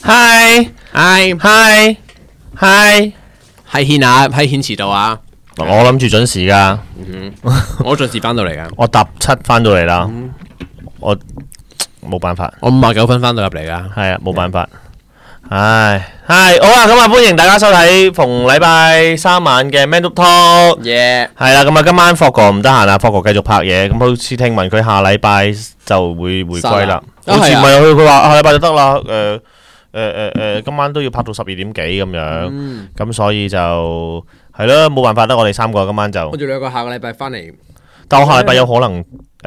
嗨嗨嗨， 係軒啊，係軒遲到啊！ 我諗住準時噶， 我準時翻到嚟噶， 我搭7翻到嚟啦，我冇辦法， 我59分翻到入嚟噶。 係啊，冇辦法。唉，好啊，咁啊，歡迎大家收睇逢禮拜三晚嘅 Man Talk。 耶！ 係啦，咁啊，今晚霍哥唔得閒啦，霍哥繼續拍嘢，咁好似聽聞佢下禮拜就會回歸啦，好似唔係佢話下禮拜就得啦，今晚都要拍到12點幾咁樣，咁所以就係咯，冇辦法得我哋3個今晚就。 我哋2個下個禮拜翻嚟， 但我下禮拜有可能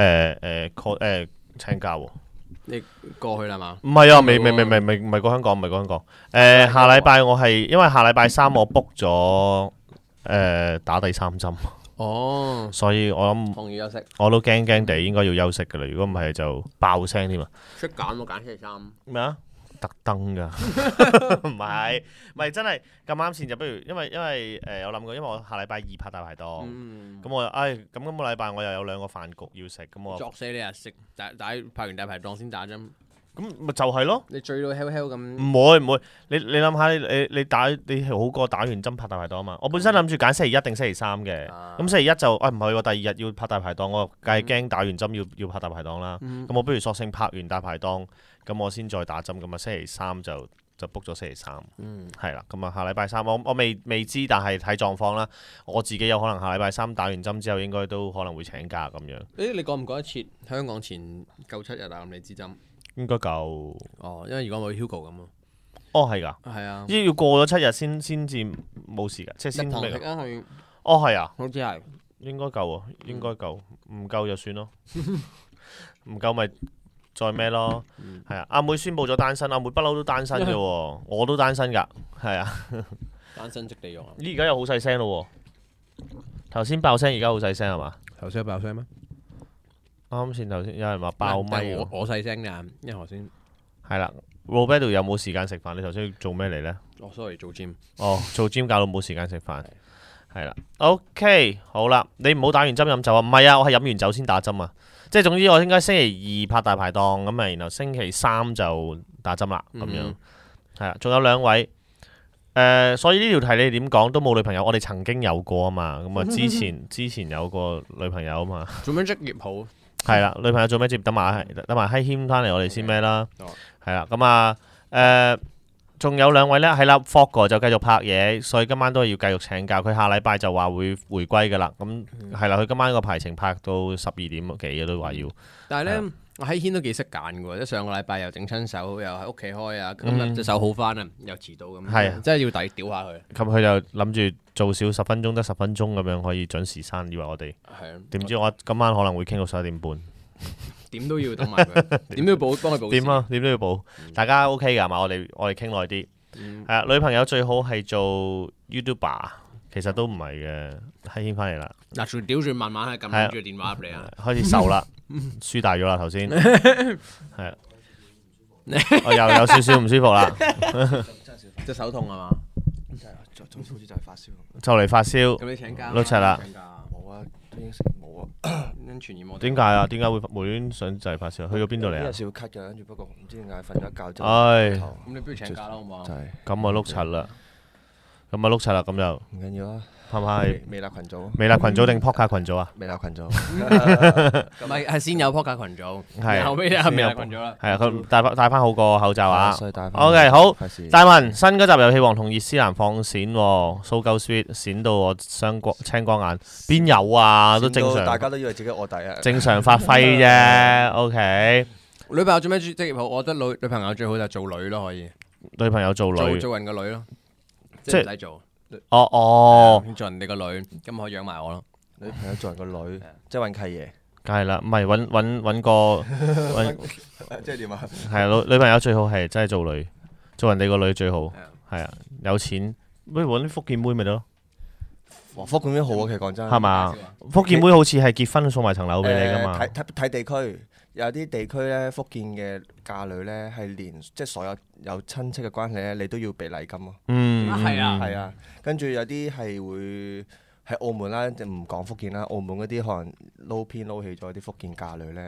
請假喎。 你過去啦嘛？ 唔係啊，未唔係過香港，唔係過香港。下禮拜我係因為下禮拜3我 book 咗打第3針， 哦， 所以我諗放熱休息， 我都驚驚地應該要休息㗎啦。如果唔係就爆聲添啊！ 出揀我揀星期3。 咩啊？特登㗎，唔係真係咁啱先就不如，因為有諗過，因為我下禮拜2拍大排檔，咁我咁今個禮拜我又有2個飯局要食，咁我作死你啊！食拍完大排檔先打針， 咁咪就係咯。 你醉到 hell 咁。 唔會，你諗下你好過打完針拍大排檔啊嘛。我本身諗住揀星期1定星期3嘅，咁星期1就唔係喎，第2日要拍大排檔，我梗係驚打完針要拍大排檔啦。咁我不如索性拍完大排檔，咁我先再打針，咁啊星期3就 book 咗星期3，係啦。咁啊下禮拜3我未知，但係睇狀況啦。我自己有可能下禮拜3打完針之後，應該都可能會請假咁樣。 你講唔講得切？香港前夠7日啊？咁你支針？ 應該夠。 哦，因為如果冇 Hugo 咁咯。 哦，係㗎。 係啊。 要過咗7日先至冇事㗎，即係先日堂食啊去。 哦，係啊。 好似係。 應該夠喎，應該夠，唔夠就算咯，唔夠咪再咩咯，係啊！阿妹宣布咗單身，阿妹不嬲都單身嘅喎，我都單身㗎，係啊。 單身即地獄啊！ 而家又好細聲咯喎，頭先爆聲，而家好細聲係嘛？ 頭先有爆聲咩？ 啱先頭先有人話爆咪喎， 我細聲㗎，因為頭先係啦。Roberto 有冇時間食飯？你頭先做咩嚟呢？ 哦，sorry，做 gym。 哦，做 gym 搞到冇時間食飯。係啦，OK，好啦，你唔好打完針飲酒啊！唔係啊，我係飲完酒先打針啊！即係總之我應該星期2拍大排檔咁啊，然後星期3就打針啦，咁樣係啦。仲有2位，所以呢條題你點講都冇女朋友，我哋曾經有過啊嘛，咁啊之前有個女朋友啊嘛。 做咩職業好？ 係啦，女朋友做咩職業？等埋閪謙翻嚟，我哋先咩啦？係啦，咁啊仲有2位呢，係啦 Fogg 就繼續拍嘢，所以今晚都係要繼續請假。佢下禮拜就話會回歸㗎啦。咁係啦，佢今晚個排程拍到12點幾都話要。 但係呢，我喺軒都幾識揀嘅喎，即係上個禮拜又整親手，又喺屋企開啊，今日隻手好翻啊，又遲到咁。係，真係要抵屌下佢。咁佢就諗住做少10分鐘得10分鐘咁樣可以準時閂，以為我哋。係啊。點知我今晚可能會傾到11點半。點都要等埋佢，點都要幫佢補。點都要補。大家 OK 㗎嘛？我哋傾耐啲。係啊，女朋友最好係做 YouTuber， 其實都唔係嘅。閪軒翻嚟啦。嗱，仲屌住慢慢係撳住電話入嚟啊！開始瘦啦，輸大咗啦頭先。係啊，我又有少少唔舒服啦。 隻手痛係嘛？ 總之好似就係發燒。 就嚟發燒。 咁你請假？ 碌柒啦。 冇啊，應承冇啊。 傳染我。 點解啊？點解會無端想就係發燒？去咗邊度嚟啊？ 有少少咳㗎，跟住不過唔知點解瞓咗一覺之後。 唉。 咁你不如請假啦，好唔好？ 就係。 咁啊碌柒啦，咁就。 唔緊要啊。 係咪？ 微辣群組。 微辣群組定 Podcast 群組啊？ 微辣群組。 唔係，係先有 Podcast 群組， 係後尾係微辣群組啦。 係啊，佢戴翻好個口罩啊。 OK， 好。大文新嗰集遊戲王同葉思蘭放閃喎，so go sweet，閃到我青光眼。邊有啊？都正常。 大家都以為自己臥底啊。 正常發揮啫。OK。 女朋友做咩職業好？我覺得女朋友最好就做女咯，可以。 女朋友做女。 做人個女咯，即係唔使做。做人哋個女，咁可以養埋我咯。 女朋友做人個女，即係揾契爺。 梗係啦，唔係揾個即係點啊？ 係啊，女朋友最好係真係做女，做人哋個女最好。係啊，有錢不如揾啲福建妹咪得咯。 福建妹好啊，其實講真。 係嘛？福建妹好似係結婚送埋層樓俾你㗎嘛？ 睇地區。有啲地區咧，福建嘅嫁女咧係連即係所有親戚嘅關係咧，你都要俾禮金咯。 係啊， 係啊。跟住有啲係會喺澳門啦，就唔講福建啦。澳門嗰啲可能撈偏撈起咗啲福建嫁女咧，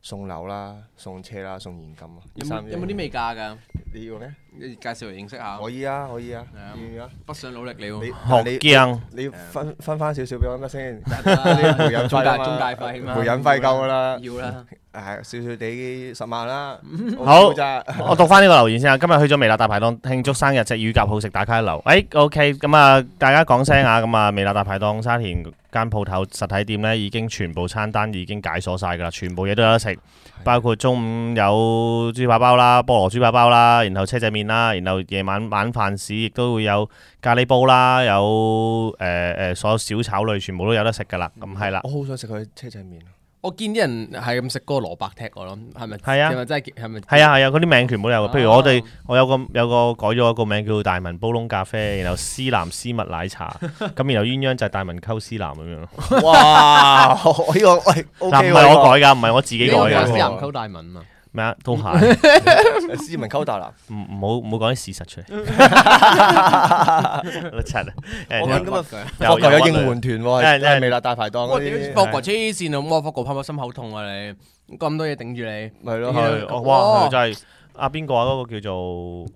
送樓啦、送車啦、送現金啊。 有冇啲未嫁㗎？ 你要咩？ 你介紹嚟認識下。 可以啊，可以啊。 北上努力了。 學驚。 你要分翻少少俾我得先。 啲媒人費中介費嘛。 媒人費夠㗎啦。 要啦。 少少地10萬啦。 好，我讀翻呢個留言先啊。今日去咗微辣大排檔慶祝生日，隻乳鴿好食，打卡一流。OK， 咁啊，大家講聲啊，咁啊，微辣大排檔沙田間鋪頭實體店呢，已經全部餐單已經解鎖晒㗎啦，全部嘢都有得食，包括中午有豬扒包啦、菠蘿豬扒包啦，然後車仔麵啦，然後夜晚晚飯時亦都會有咖喱煲啦，有所有小炒類全部都有得食㗎啦。咁係啦。 我好想食佢車仔麵。 我見啲人係咁食嗰個蘿蔔踢我咯，係咪？ 係啊， 係咪真係？係咪？ 係啊，嗰啲名全部都有。譬如我有個改咗一個名叫大文煲窿咖啡，然後絲藍絲襪奶茶，咁然後鴛鴦就係大文溝絲藍咁樣。 哇！呢個喂 OK 喎。 唔係我改㗎，唔係我自己改㗎。 絲藍溝大文啊！ 咩啊？都係斯文溝大男， 唔好講啲事實出嚟。老柒啊！ 我見今日福哥有應援團喎，係微辣大排檔嗰啲。 福哥黐線啊！咁福哥怕唔怕心口痛啊？你咁多嘢頂住你， 係咯。 哇！就係邊個啊？嗰個叫做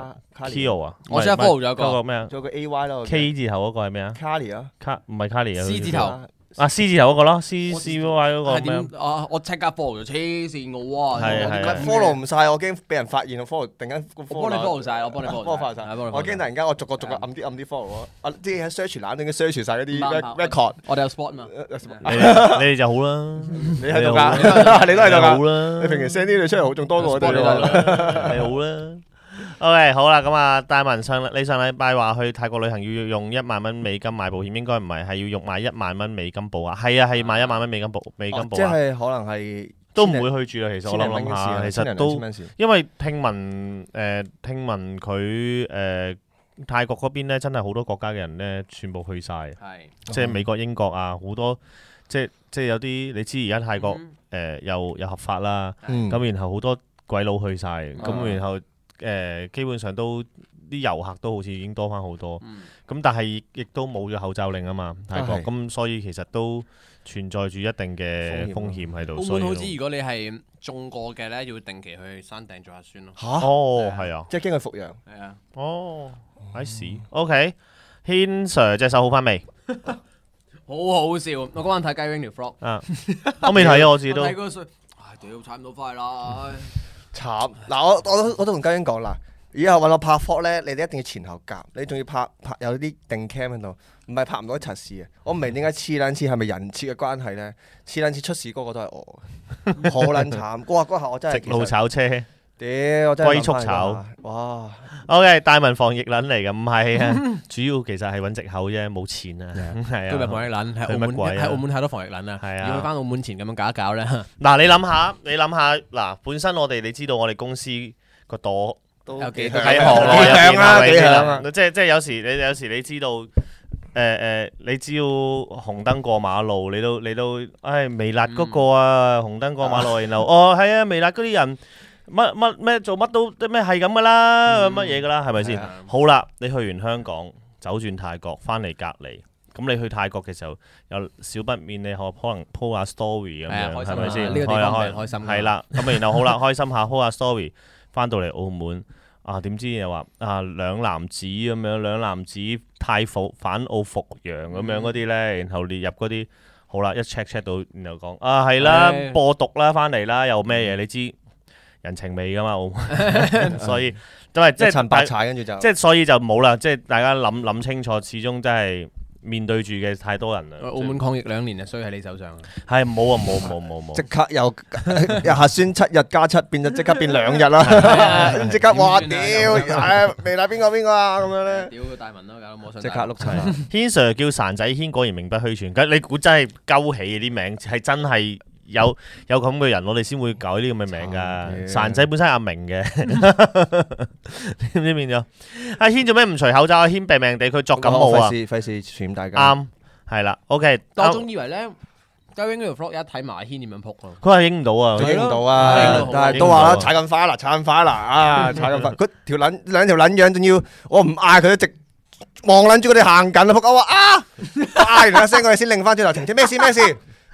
Kio 啊？ 我先 follow 咗個咩啊？ 仲有個 AY 咯。 K 字頭嗰個係咩啊 ？Carly 啊？ 唔係 Carly 啊 ？C 字頭。 C 字頭嗰個咯，C Y 嗰個咩？ 我即刻 follow 咗黐線嘅喎， 係 follow 唔晒，我驚俾人發現我 follow，突然間我幫你 follow 晒，我幫你 follow 晒， 我驚突然間我逐個按啲 follow 我，啲喺 search 欄已經 search 晒嗰啲 record， 我哋有 spot 嘛？ 你哋就好啦， 你喺度㗎，你都喺度㗎， 好啦， 你平時 send 啲嘢出嚟好仲多過我哋喎， 你好啦。OK， 好啦，咁啊，大文你上禮拜話去泰國旅行要用1萬蚊美金買保險，應該唔係，係要用買1萬蚊美金保額。係啊，係買1萬蚊美金保額。 即係可能係都唔會去住啦。其實我諗下，其實都因為聽聞佢泰國嗰邊咧，真係好多國家嘅人咧，全部去晒。即係美國、英國啊，好多即係有啲你知而家泰國又合法啦，咁然後好多鬼佬去晒，咁然後。基本上都啲遊客都好似已經多翻好多，咁但係亦都冇咗口罩令啊嘛，泰國，咁所以其實都存在住一定嘅風險喺度。 澳門好似如果你係中過嘅咧，要定期去山頂做核酸咯。 嚇！ 哦，係啊， 即係驚佢復陽。 係啊。 哦，I see。OK， 軒 Sir 隻手好翻未？ 好好笑！我嗰晚睇雞 wing 條 vlog。 我未睇啊，我自己都。 睇嗰個屌踩唔到快啦！ 慘嗱，我都同嘉英講啦，以後揾我拍 vlog 咧，你哋一定要前後夾，你仲要拍有啲定 cam 喺度，唔係拍唔到一柒事嘅。我唔明點解黐撚黐係咪人設嘅關係咧？黐撚黐出事嗰個都係我，好撚慘。嗰下我真係直路炒車， 屌我真係龜速炒， 哇 ！OK， 大文防疫撚嚟嘅，唔係啊，主要其實係揾藉口啫，冇錢啊，係啊。 佢咪防疫撚喺澳門太多防疫撚啊， 係啊。 要去翻澳門前咁樣搞一搞咧。 嗱，你諗下，嗱，本身你知道我哋公司個朵都有幾喺行內入邊啊， 幾響，即係有時你知道。你只要紅燈過馬路，你都微辣嗰個啊，紅燈過馬路，然後係啊，微辣嗰啲人咩做乜都咩係咁噶啦，乜嘢噶啦，係咪先？好啦，你去完香港，走轉泰國，翻嚟隔離，咁你去泰國嘅時候，有少不免你可能 po 下 story 咁樣，係咪先？ 呢個地方開心。 係啦，咁然後好啦，開心下 po 下 story，翻到嚟澳門。點知又話兩男子咁樣，兩男子返澳復陽咁樣嗰啲咧，然後列入嗰啲好啦，一 check 到，然後講係啦，播毒啦，翻嚟啦，又咩嘢？你知人情味噶嘛，澳門，所以都係即係陳白踩，跟住就即係所以就冇啦，即係大家諗清楚，始終真係面對住嘅太多人啦。 澳門抗疫2年啊，衰喺你手上。 係冇啊，冇， 即刻又核酸7日加7變咗即刻變2日啦，即刻話屌微辣邊個啊咁樣咧？ 屌大文咯，搞到冇信。 即刻碌齊。 軒 Sir 叫潺仔軒，果然名不虛傳。你估真係鳩起啲名，係真係有咁嘅人，我哋先會改呢咁嘅名㗎。潺仔本身係阿明嘅，知唔知變咗？阿軒做咩唔除口罩？阿軒病命地，佢作感冒啊！ 費事傳染大家。 啱，係啦。OK， 我仲以為咧，嘉穎嗰條 vlog 一睇埋阿軒點樣撲啊！ 佢話影唔到啊， 影唔到啊！但係都話啦，踩咁快啦，踩咁快！佢兩條撚樣，仲要我唔嗌佢都直望撚住佢哋行緊啊！仆我話啊！嗌完一聲，我哋先擰翻轉頭，停咩事？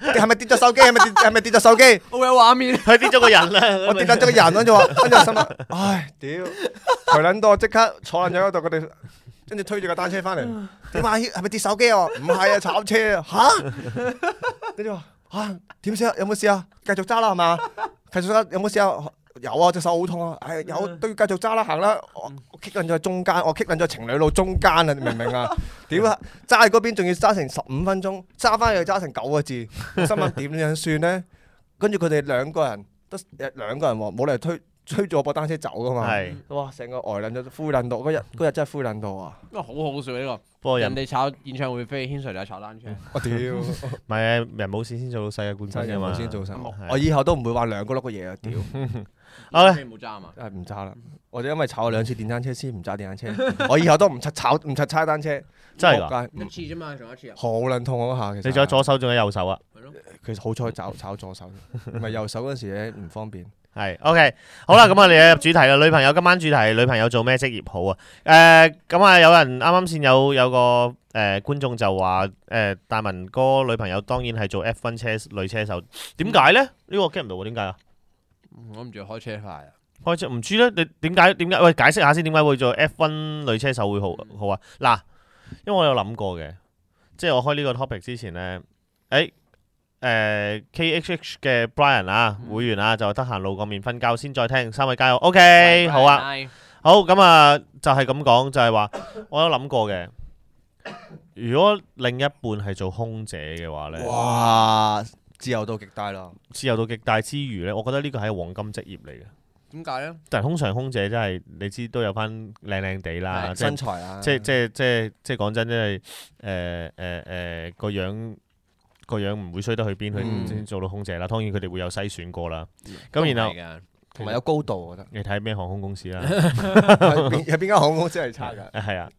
係咪跌咗手機？係咪跌咗手機？ 好有畫面， 佢跌咗個人啦， 我跌撚咗個人，跟住心諗，唉，屌，抬撚到我即刻坐撚咗喺度，佢哋跟住推住架單車翻嚟，點啊？係咪跌手機啊？唔係啊，炒車啊，嚇！跟住話嚇點事啊？有冇事啊？繼續揸啦係嘛？繼續揸有冇事啊？有啊，隻手好痛啊！係有都要繼續揸啦，行啦！我棘撚咗喺中間，我棘撚咗情侶路中間啊！你明唔明啊？屌啊！揸喺嗰邊仲要揸成15分鐘，揸翻去揸成9個字，我心諗點樣算咧？跟住佢哋兩個人喎，冇理由推住我部單車走噶嘛。 係。 哇！成個呆撚咗，灰撚到嗰日真係灰撚到啊！ 好好笑呢個。 不過人哋炒演唱會飛，軒 Sir 就炒單車。 我屌！ 唔係啊，人冇事先做到世界冠軍㗎嘛。 先做晒。我以後都唔會話兩個碌嘅嘢啊！屌！ 好咧，冇揸啊嘛。 唔揸啦！我哋因為炒咗2次電單車先唔揸電單車。我以後都唔踩單車。 真係㗎？ 一次啫嘛，仲有一次啊。 好撚痛嗰下其實。 你仲有左手，仲有右手啊？ 係咯。 其實好彩炒左手，唔係右手嗰時咧唔方便。 係 OK， 好啦，咁我哋入主題啦。女朋友今晚主題，女朋友做咩職業好啊？咁啊，有人啱啱先有個觀眾就話大文哥女朋友當然係做 F1 女車手，點解咧？呢個我 get唔到喎，點解啊？ 我唔知開車快啊！ 開車唔知咧，你點解？喂，解釋下先，點解會做 F1 女車手會好啊？嗱，因為我有諗過嘅，即係我開呢個 topic 之前咧，KHH 嘅 Brian 啊，會員啊，就得閒露個面瞓覺先再聽，三位加油 ，OK， 好啊，好咁啊，就係咁講，就係話我有諗過嘅，如果另一半係做空姐嘅話咧， 哇，自由度極大咯， 自由度極大之餘咧，我覺得呢個係黃金職業嚟嘅。點解咧？但係通常空姐真係你知都有翻靚靚地啦， 身材啊， 即係講真，真係個樣唔會衰得去邊，佢先做到空姐啦。當然佢哋會有篩選過啦。咁然後同埋有高度，我覺得。 你睇咩航空公司啦？ 有邊間航空公司係差㗎？ 係啊。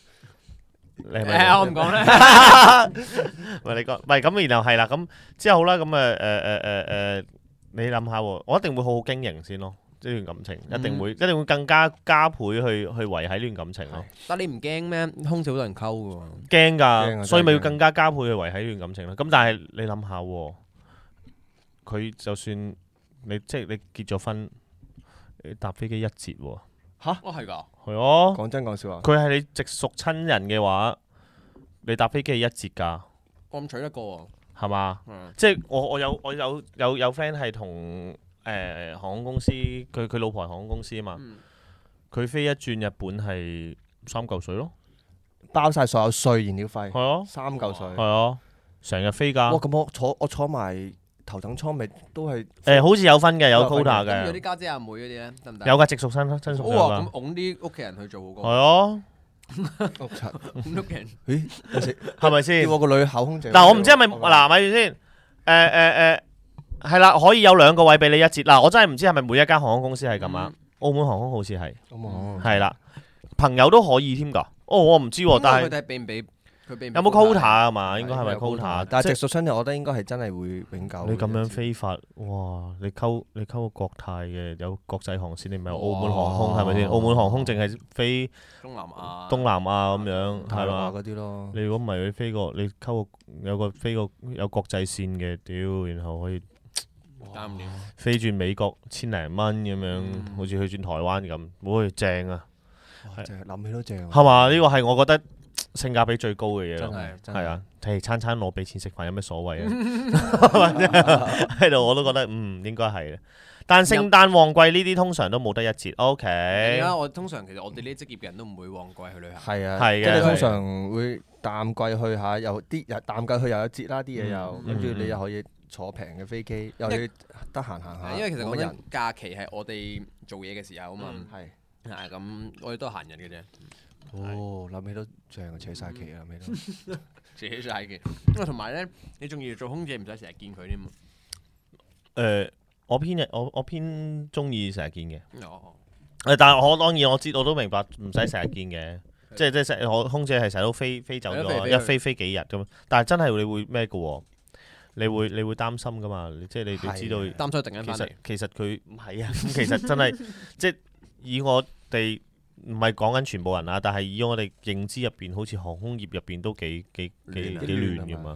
我唔講啦。 喂，你講，唔係咁，然後係啦，咁之後好啦，咁你諗下喎，我一定會好好經營先咯。呢段感情一定會更加倍去維係呢段感情咯。 但你唔驚咩？空姐好多人溝㗎喎。 驚㗎，所以咪要更加加倍去維係呢段感情咯。咁但係你諗下喎，佢就算你結咗婚，你搭飛機一折喎。 嚇？係㗎。係啊。 講真講笑話。 佢係你直屬親人嘅話，你搭飛機係一折㗎。 我咁取得過喎。係嘛？即係我有 friend 係同。航空公司，佢老婆係航空公司啊嘛，佢飛一轉日本係3嚿水咯， 包晒所有稅、燃料費， 係啊 ，3嚿水， 係啊，成日飛㗎。 哇！咁我坐埋頭等艙咪都係好似有分嘅，有 quota 嘅。 有啲家姐阿妹嗰啲咧得唔得？ 有㗎，直屬親屬㗎。 哇！咁擁啲屋企人去做好過。 係啊。 屋企人。 咦？ 係咪先？ 叫我個女考空姐。 嗱，我唔知係咪嗱，咪住先。係啦，可以有2個位俾你一折。嗱，我真係唔知係咪每一間航空公司係咁啊。澳門航空好似係，係啦，朋友都可以添㗎。我唔知喎，但係佢睇俾唔俾？ 有冇 quota 啊嘛？應該係咪 quota？ 但係直屬親人，我覺得應該係真係會永久。 你咁樣飛法，哇！你溝個國泰嘅有國際航線，你咪有澳門航空係咪先？澳門航空淨係飛東南亞咁樣係嘛？ 嗰啲咯。 你如果唔係你飛過，你溝個飛個有國際線嘅，屌，然後可以。飛轉美國1000零蚊咁樣，好似去轉台灣咁，會正啊！ 諗起都正。 係嘛？呢個係我覺得性價比最高嘅嘢咯。係啊，餐攞俾錢食飯有咩所謂啊？喺度我都覺得應該係。但聖誕旺季呢啲通常都冇得一折。OK。 而家我通常其實我哋呢啲職業嘅人都唔會旺季去旅行。 係啊， 係嘅。 即係通常會淡季去下，有啲淡季去又有折啦，啲嘢又跟住你又可以。坐平嘅飛機，又要得閒行下。 因為其實講緊假期係我哋做嘢嘅時候啊嘛。係咁，我哋都係閒人嘅啫。 哦，諗起都正，扯晒旗啊！諗起都扯晒旗。因為同埋咧，你仲要做空姐，唔使成日見佢添。 我偏中意成日見嘅。但係我當然我知道，我都明白唔使成日見嘅。即係我空姐係成日都飛走咗，一飛幾日咁。但係真係你會咩嘅喎？你會擔心噶嘛？即係你知道擔心突然間翻嚟。 其實佢唔係啊，咁其實真係即係以我哋唔係講緊全部人啊，但係以我哋認知入邊，好似航空業入邊都幾亂噶嘛。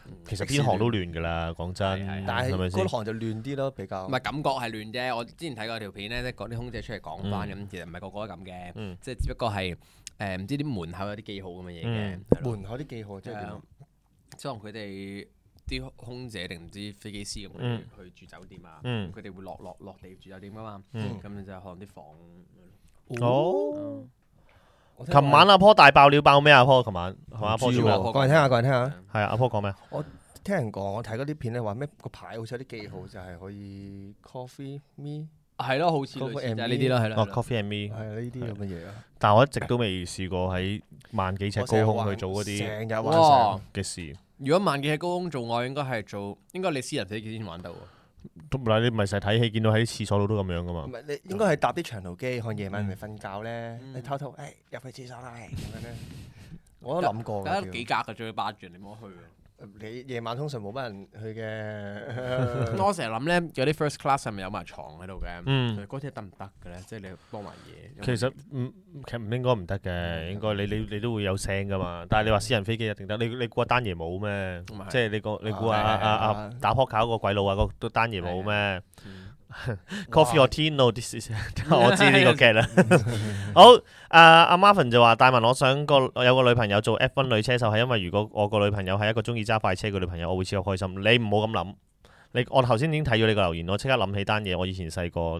其實邊行都亂㗎啦，講真。 但係咪先嗰行就亂啲咯，比較。 唔係感覺係亂啫。我之前睇過條片咧，即係講啲空姐出嚟講翻咁，其實唔係個個都咁嘅，即係只不過係唔知啲門口有啲記號咁嘅嘢嘅。 門口啲記號即係點？ 即係佢哋啲空姐定唔知飛機師咁去住酒店啊，佢哋會落地住酒店㗎嘛，咁就可能啲房。 哦。琴晚阿坡大爆料爆咩？阿坡琴晚係嘛？阿坡做咩？ 講嚟聽下，講嚟聽下。 係啊，阿坡講咩？ 我聽人講，我睇嗰啲片咧話咩個牌好似有啲記號，就係可以 coffee me。 係咯，好似類似就係呢啲咯，係咯。 coffee and me 係呢啲咁嘅嘢啊。 但係我一直都未試過喺萬幾尺高空去做嗰啲成日玩嘅事。 如果萬幾尺高空做愛，應該你私人飛機先玩到。 嗱，你唔係成日睇戲見到喺啲廁所度都咁樣噶嘛？ 唔係，你應該係搭啲長途機，可能夜晚咪瞓覺咧，你偷偷入去廁所啦，咁樣咧。我都諗過㗎。 得幾格嘅，仲要霸住你唔好去。 你夜晚通常冇乜人去嘅。 我成日諗咧，有啲 first class 係咪有埋床喺度嘅？嗰啲得唔得嘅咧？即係你幫埋嘢。 其實唔應該唔得嘅，應該你都會有聲噶嘛。但係你話私人飛機一定得，你估阿丹爺冇咩？即係你估阿打撲克個鬼佬啊，個丹爺冇咩？Coffee or tea？No，我知呢個 get 啦。好，阿 Marvin 就話：大文，我有個女朋友做 F1 女車手，係因為如果我個女朋友係一個中意揸快車嘅女朋友，我會超級開心。你唔好咁諗。我頭先已經睇咗你個留言，我即刻諗起單嘢。我以前細個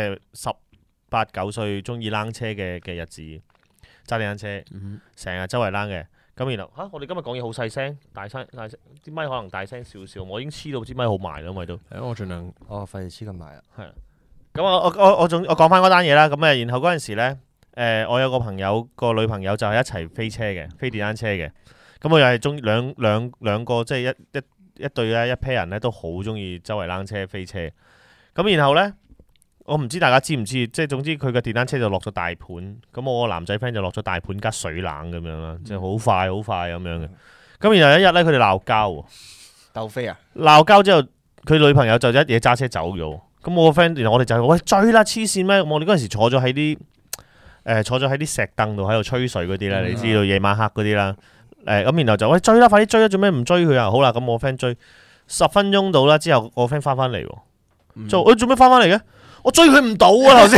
18、9歲中意躝車嘅日子，揸電單車，成日周圍躝嘅。咁然後我哋今日講嘢好細聲，大聲，啲咪可能大聲少少。我已經黐到支咪好埋啦，因為都。 我盡量。 費事黐咁埋啊。 係。咁我講翻嗰單嘢啦。咁然後嗰陣時咧，我有個朋友個女朋友就係一齊飛車嘅，飛電單車嘅。咁我又係中兩個即係一對咧，一 pair 人咧都好中意周圍躝車飛車。咁然後咧，我唔知大家知唔知，即係總之佢嘅電單車就落咗大盤，咁我個男仔 friend 就落咗大盤加水冷咁樣啦，即係好快咁樣嘅。咁然後一日咧，佢哋鬧交喎， 鬥飛啊！ 鬧交之後，佢女朋友就一嘢揸車走咗。咁我個 friend，然後我哋就喂追啦，黐線咩？我哋嗰陣時坐咗喺啲石凳度喺度吹水嗰啲咧，你知道夜晚黑嗰啲啦。咁然後就喂追啦，快啲追啦！做咩唔追佢啊？好啦，咁我 friend 追10分鐘到啦，之後我 friend 翻嚟喎，做咩翻嚟嘅？我追佢唔到啊！頭先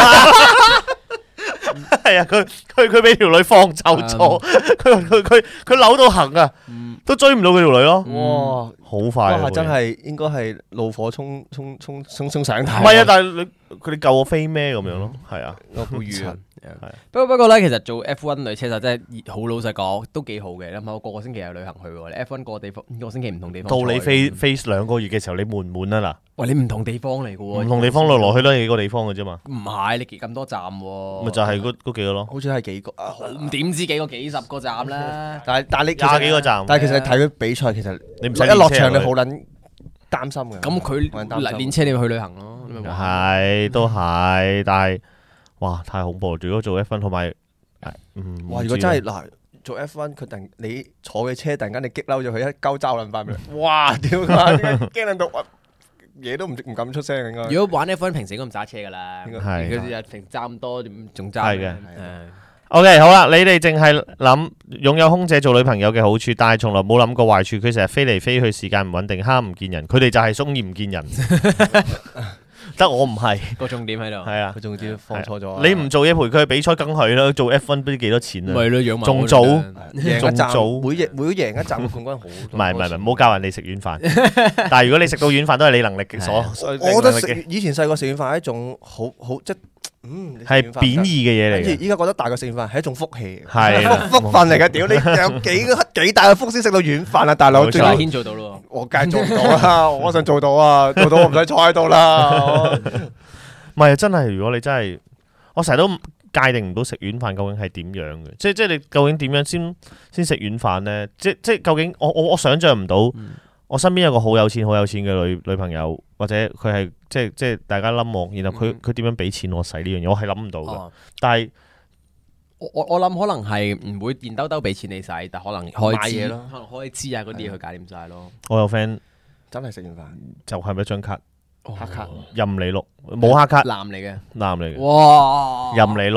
係啊，佢俾條女放走咗，佢扭到行啊，都追唔到佢條女咯。哇，好快啊！ 真係應該係怒火衝上頭。 唔係啊，但係佢哋救我飛咩咁樣咯？係啊， 好遠。不過咧，其實做 F1 女車手真係好老實講，都幾好嘅。你諗下，我個星期有旅行去喎。你 F1 個地方，個星期唔同地方。 到你飛2個月嘅時候，你悶唔悶啊？嗱， 喂，你唔同地方嚟嘅喎， 唔同地方落去都係幾個地方嘅啫嘛。 唔係，你咁多站喎。 咪就係嗰幾個咯。 好似係幾個唔點知幾個幾十個站啦。 但係你廿幾個站。 但係其實睇佢比賽，其實你唔使一落場你好撚擔心嘅。 咁佢練車你要去旅行咯。 係都係，但係哇太恐怖！如果做 F1 同埋哇，如果真係嗱做 F1，佢突然你坐嘅車突然間你激嬲咗佢，一鳩揸撚翻嚟，哇屌啊！驚撚到嘢都唔敢出聲應該。 如果玩 F1 平時應該唔揸車噶啦，佢日平時揸咁多點仲揸？ 係嘅。OK 好啦，你哋淨係諗擁有空姐做女朋友嘅好處，但係從來冇諗過壞處。佢成日飛嚟飛去，時間唔穩定，蝦唔見人。佢哋就係中意唔見人。得我唔係個重點喺度， 係啊， 佢仲要放錯咗。 你唔做嘢陪佢去比賽，梗係啦。做 F1 唔知幾多錢啊？ 咪咯，養埋仲早， 每贏一站嘅冠軍好。 唔係，唔好教人哋食軟飯。但係如果你食到軟飯，都係你能力嘅所。 我覺得以前細個食軟飯係一種好即係貶義嘅嘢嚟嘅。 依家覺得大個食軟飯係一種福氣， 係福分嚟嘅。屌你有幾大嘅福先食到軟飯啊，大佬！ 最阿軒做到咯， 我梗係做唔到啦。我想做到啊，做到我唔使坐喺度啦。 唔係真係，如果你真係，我成日都界定唔到食軟飯究竟係點樣嘅，即係你究竟點樣先食軟飯呢？即係究竟我想象唔到，我身邊有個好有錢嘅女朋友，或者佢係即係大家冧我，然後佢點樣俾錢我使呢樣嘢，我係諗唔到嘅。但係我諗可能係唔會現兜兜俾錢你使，但可能開支咯，可能開支啊嗰啲嘢去搞掂晒咯。 我有 friend 真係食軟飯， 就係咪一張卡？ 黑卡任你碌，冇黑卡， 男嚟嘅， 哇，任你碌，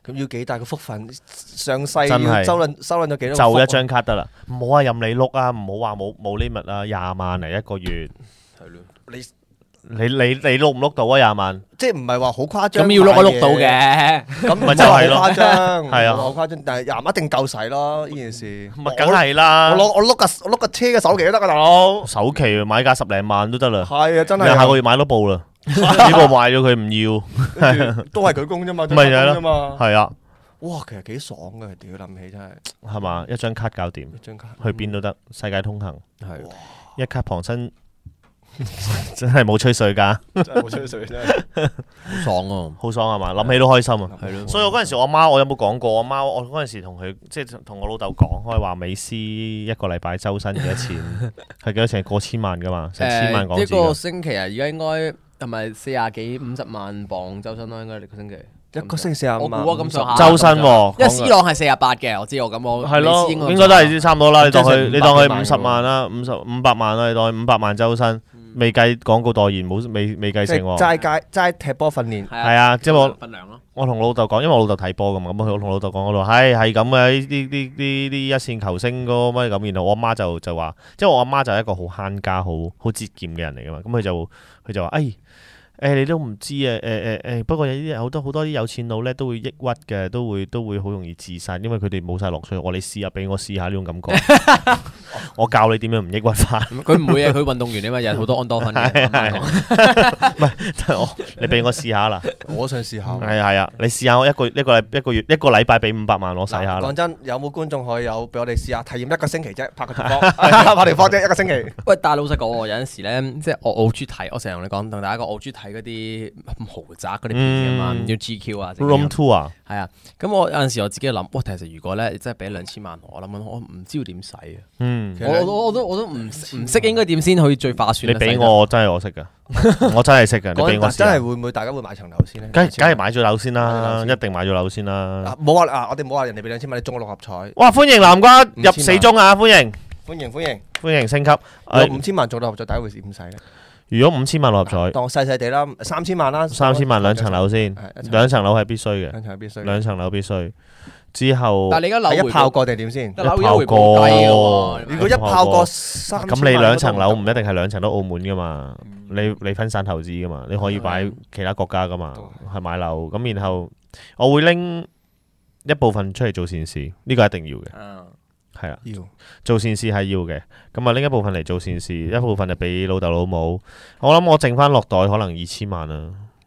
咁要幾大個福分？上世真係要收撚咗幾多？ 就一張卡得啦，唔好話任你碌啊，唔好話冇 limit 啊，20萬嚟一個月。 係咯， 你碌唔碌到啊？20萬， 即係唔係話好誇張？ 咁要碌都碌到嘅， 咁咪就係咯好誇張， 係啊好誇張，但係廿萬一定夠使咯呢件事。 咪梗係啦。 我碌個車嘅首期都得㗎，大佬。 首期買架10零萬都得啦。 係啊，真係。 你下個月買多部啦，呢部賣咗佢唔要， 都係佢供啫嘛， 咪就係咯嘛。 係啊， 哇，其實幾爽嘅，屌諗起真係。 係嘛？一張卡搞掂， 一張卡去邊都得，世界通行， 係一卡傍身，真係冇吹水㗎， 真係冇吹水真係。 好爽喎， 好爽係嘛？諗起都開心啊！ 係咯。 所以我嗰陣時，我媽我有冇講過？我媽我嗰陣時同佢即係同我老豆講開話，美斯一個禮拜周薪幾多錢？係幾多錢？過千萬㗎嘛，成千萬港紙。 一個星期啊，而家應該係咪40幾50萬磅周薪咯？應該一個星期。 一個星期45萬。 我估啊咁上下。 周薪喎， 因為 C 朗係48嘅，我知我咁我。 係咯，應該都係差唔多啦。你當佢50萬啦，500萬啦，你當佢500萬周薪。未計廣告代言，未計成喎。 齋踢波訓練。 係啊，即係份糧咯。 我同老豆講，因為我老豆睇波噶嘛，咁我同老豆講嗰度係咁嘅，呢一線球星嗰乜咁，然後我阿媽就話，即係我阿媽就係一個好慳家、好節儉嘅人嚟噶嘛，咁佢就話，你都唔知啊，不過有啲好多啲有錢佬咧都會抑鬱嘅，都會好容易自殺，因為佢哋冇晒樂趣。你試下，俾我試下呢種感覺。我教你點樣唔抑鬱法。 佢唔會啊，佢運動員啊嘛，有好多安多芬嘅。 唔係，你俾我試下啦。 我想試下。 係啊，你試下我一個禮拜俾500萬我使下啦。 講真，有冇觀眾可以俾我哋試下體驗一個星期啫，拍條波啫，一個星期。 喂，但係老實講，有陣時咧，即係我好中意睇，我成日同你講，同大家講，我好中意睇嗰啲豪宅嗰啲片啊嘛，要 GQ 啊 ，room tour 啊， 係啊。咁我有陣時我自己諗，哇，其實如果咧真係俾2000萬我諗我唔知要點使啊。我都唔識應該點先可以最划算。 你俾我真係我識噶，我真係識噶。你俾我真係會唔會大家會買層樓先咧？ 梗係買咗樓先啦，一定買咗樓先啦。 冇話我哋冇話人哋俾2000萬，你中6合彩。 哇！歡迎南瓜入4中啊！歡迎升級。 有5000萬中6合彩，第一回事點使咧？ 如果5000萬6合彩， 當細細地啦，3000萬啦。 3000萬2層樓先，2層樓係必須嘅。2層樓必須。之後， 但係你而家樓一炮過定點先？ 一炮過。 如果一炮過3000萬， 咁你2層樓唔一定係2層都澳門噶嘛？你分散投資噶嘛？你可以擺其他國家噶嘛？係買樓咁，然後我會拎一部分出嚟做善事，呢個一定要嘅。係啊，做善事係要嘅。咁啊，拎一部分嚟做善事，一部分就俾老豆老母。我諗我剩翻落袋可能2000萬啦。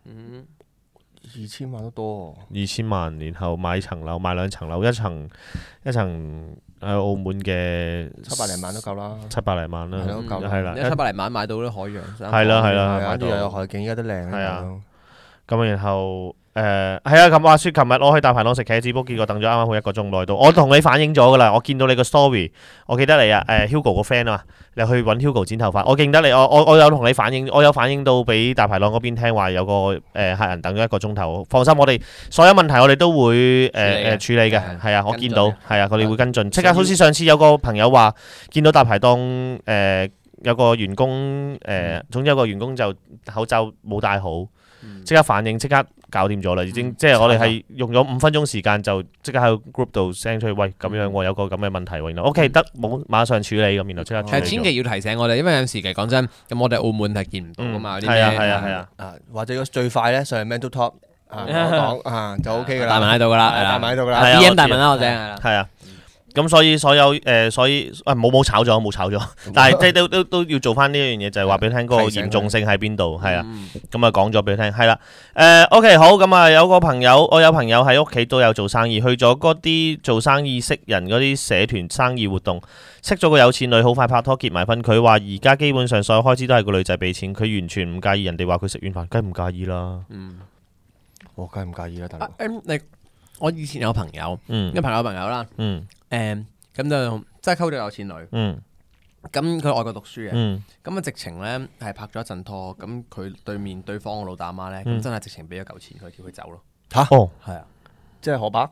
2000萬都多。 2000萬，然後買層樓，買2層樓，一層喺澳門嘅 700零萬都夠啦。 700零萬啦，係啦 ，700零萬買到啲海洋。 係啦， 跟住又有海景，而家都靚。 係啊，咁然後。係啊，咁話說，琴日我去大排檔食茄子煲，結果等咗啱啱好1個鐘內到。我同你反映咗噶啦，我見到你個 story，我記得你啊，Hugo 個 friend 啊嘛，你去揾 Hugo 剪頭髮，我記得你，我有同你反映，我有反映到俾大排檔嗰邊聽話有個客人等咗1個鐘頭。放心，我哋所有問題我哋都會處理嘅，係啊，我見到係啊，佢哋會跟進，即刻好似上次有個朋友話見到大排檔有個員工總之有個員工就口罩冇戴好。即刻反應，即刻搞掂咗啦，已經即係我哋係用咗5分鐘時間就即刻喺 group 度 send 出去，喂咁樣我有個咁嘅問題喎，然後 OK 得冇馬上處理咁，然後即刻處理。 千祈要提醒我哋，因為有時其實講真，咁我哋澳門係見唔到噶嘛，啲咩係啊， 或者最快咧上去 Man to Top 講就 OK 噶啦， 大文喺度噶啦， 大文喺度噶啦 ，DM 大文啦，我正係啊。咁所以冇炒咗，但係即係都要做翻呢樣嘢，就係話俾你聽嗰個嚴重性喺邊度，係啊，咁啊講咗俾你聽，係啦，OK 好，咁啊我有朋友喺屋企都有做生意，去咗嗰啲做生意識人嗰啲社團生意活動，識咗個有錢女，好快拍拖結埋婚，佢話而家基本上所有開支都係個女仔俾錢，佢完全唔介意人哋話佢食軟飯，梗係唔介意啦， 我梗係唔介意啦，大佬。 我以前有朋友，有朋友啦，咁就真係溝咗有錢女，咁佢外國讀書嘅，咁啊直情咧係拍咗一陣拖，咁佢對方個老豆阿媽咧，咁真係直情俾咗嚿錢佢，叫佢走咯。 嚇？ 係啊， 即係河伯。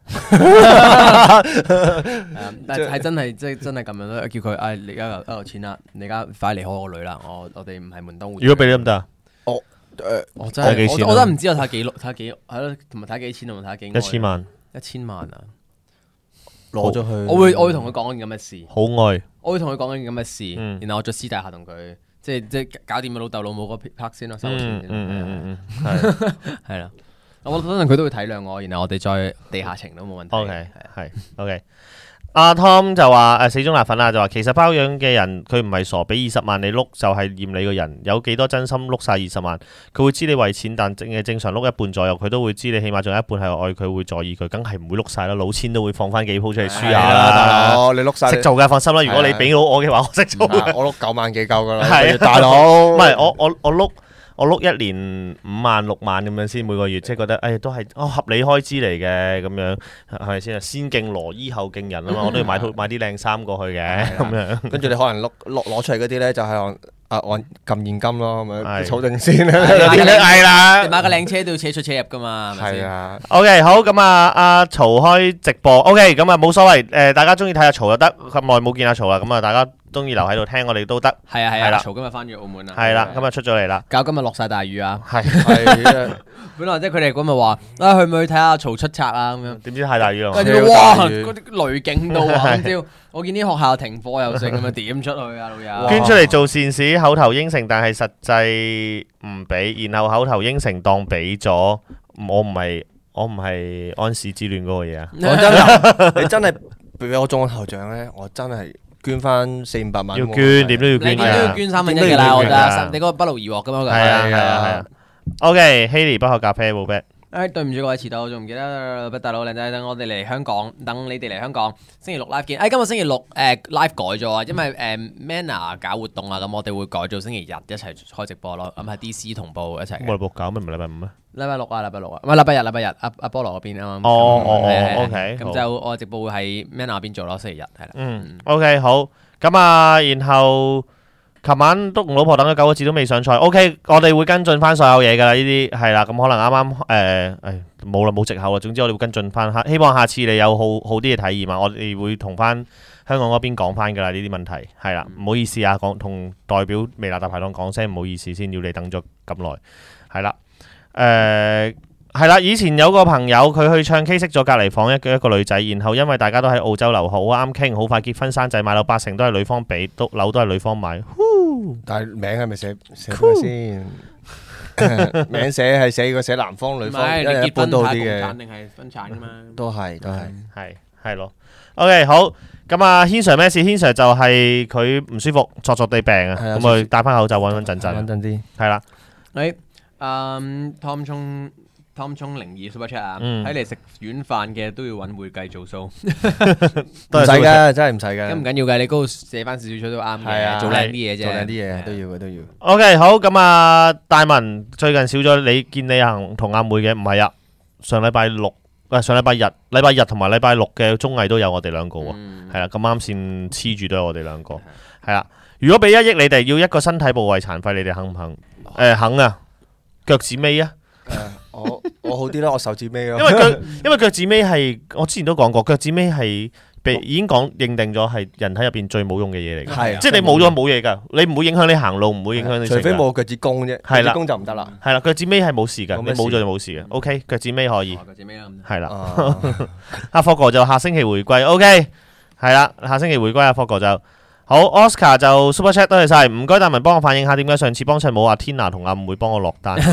但係真係真係咁樣咯，叫佢你而家有錢啦，你而家快離開我個女啦，我哋唔係門當戶。 如果俾你得唔得啊？ 我真係我真係唔知我睇幾係咯，同埋睇幾錢同埋睇幾 1000萬 ，1000萬啊！ 攞咗去， 我會同佢講緊咁嘅事， 好愛， 我會同佢講緊咁嘅事，然後我再私底下同佢即係搞掂老豆老母嗰 part 先咯，收錢先，係啦，我相信佢都會體諒我，然後我哋再地下情都冇問題。 OK， 係 OK。阿 Tom 就話死忠辣粉啊，就話其實包養嘅人佢唔係傻，俾20萬你碌就係厭你個人，有幾多真心碌晒20萬？佢會知你為錢，但正常碌一半左右，佢都會知你起碼仲有一半係愛佢，會在意佢，梗係唔會碌晒啦。老千都會放翻幾鋪出嚟輸下啦，大佬。 你碌晒識做㗎，放心啦。如果你俾到我嘅話，我識做。 我碌9萬幾夠㗎啦， 係大佬。 唔係我碌一年5萬6萬咁樣先每個月，即係覺得都係合理開支嚟嘅咁樣，係咪先啊？先敬羅衣後敬人啊嘛，我都要買啲靚衫過去嘅咁樣。 跟住你可能攞出嚟嗰啲咧，就係按撳現金咯，咁樣儲定先啦。 係啦，你買個靚車都要車出車入噶嘛，係咪先？ 係啊。 OK， 好咁啊，阿曹開直播 OK， 咁啊冇所謂，大家中意睇阿曹就得，咁耐冇見阿曹啦，咁啊大家中意留喺度聽我哋都得。 係啊，曹今日翻咗澳門啦。 係啦，今日出咗嚟啦。 搞今日落晒大雨啊！ 係本來即係佢哋咁咪話去唔去睇下曹出冊啊咁樣？ 點知太大雨啦！ 跟住哇，嗰啲雷勁到啊！今朝我見啲學校停課又剩咁啊，點出去啊老友？ 捐出嚟做善事，口頭應承，但係實際唔俾，然後口頭應承當俾咗，我唔係安史之亂嗰個嘢啊！ 講真㗎，你真係俾我中個頭獎咧，我真係捐翻400-500萬。 要捐，點都要捐㗎。 你都要捐3分1㗎啦，我覺得。你嗰個不勞而獲㗎嘛？ 係啊。OK，Haley 不喝咖啡冇 bet。 對唔住各位遲到，我仲唔記得大佬靚仔，等我哋嚟香港，等你哋嚟香港，星期六 live 見。今日星期六live 改咗啊，因為Manner 搞活動啊，咁我哋會改做星期日一齊開直播咯，咁係 DC 同步一齊。 我哋冇搞咩？唔係禮拜5咩？ 禮拜六啊，唔係禮拜日，阿菠蘿嗰邊啊嘛。 OK。 咁就我直播會喺 Manner 嗰邊做咯，星期日係啦。 OK 好，咁啊，然後。琴晚都同老婆等咗9個字都未上菜 ，OK， 我哋會跟進翻所有嘢㗎啦，呢啲係啦，咁可能啱冇啦，冇藉口啦。總之我哋會跟進翻，希望下次你有好啲嘅體驗啊，我哋會同翻香港嗰邊講翻㗎啦，呢啲問題係啦，唔好意思啊，同代表微辣大排檔講聲唔好意思先，要你等咗咁耐，係啦，係啦，以前有個朋友佢去唱 K 識咗隔離房一個女仔，然後因為大家都喺澳洲留學，好啱傾，好快結婚生仔，買樓80%都係女方俾，樓都係女方買。 但係名係咪寫佢先？名寫男方女方， 你結婚都好啲嘅。 嘅。 定係分產㗎嘛？ 都係係咯。OK 好，咁啊軒 Sir 咩事？軒 Sir 就係佢唔舒服，作地病啊，咁佢戴翻口罩穩陣啲。係啦。 Tom 聰02 Super Chat 啊，睇嚟食軟飯嘅都要揾會計做數， 唔使㗎，真係唔使㗎。 咁唔緊要嘅，你嗰度寫翻少少出都啱嘅，做靚啲嘢啫， 做靚啲嘢都要嘅都要。 OK 好，咁啊大文最近少咗你見你行同阿妹嘅，唔係啊，上禮拜日同埋禮拜六嘅綜藝都有我哋兩個喎，係啦，咁啱先黐住都有我哋兩個，係啦。如果俾1億你哋要一個身體部位殘廢，你哋肯唔肯？肯啊，腳趾尾啊。 我好啲啦，我手指尾咯。 因為腳趾尾係我之前都講過，腳趾尾係已經認定咗係人體入邊最冇用嘅嘢嚟嘅。係，即係你冇咗冇嘢㗎，你唔會影響你行路，唔會影響你。 除非冇腳趾公啫，腳趾公就唔得啦。係啦， 腳趾尾係冇事㗎，你冇咗就冇事嘅。OK， 腳趾尾可以。 腳趾尾啦。 係啦。阿霍哥就下星期回歸。OK， 係啦，下星期回歸阿霍哥就。好 ，Oscar 就 Super Chat 多謝晒，唔該大文幫我反映下點解上次幫襯冇阿 Tina 同阿唔會幫我落單。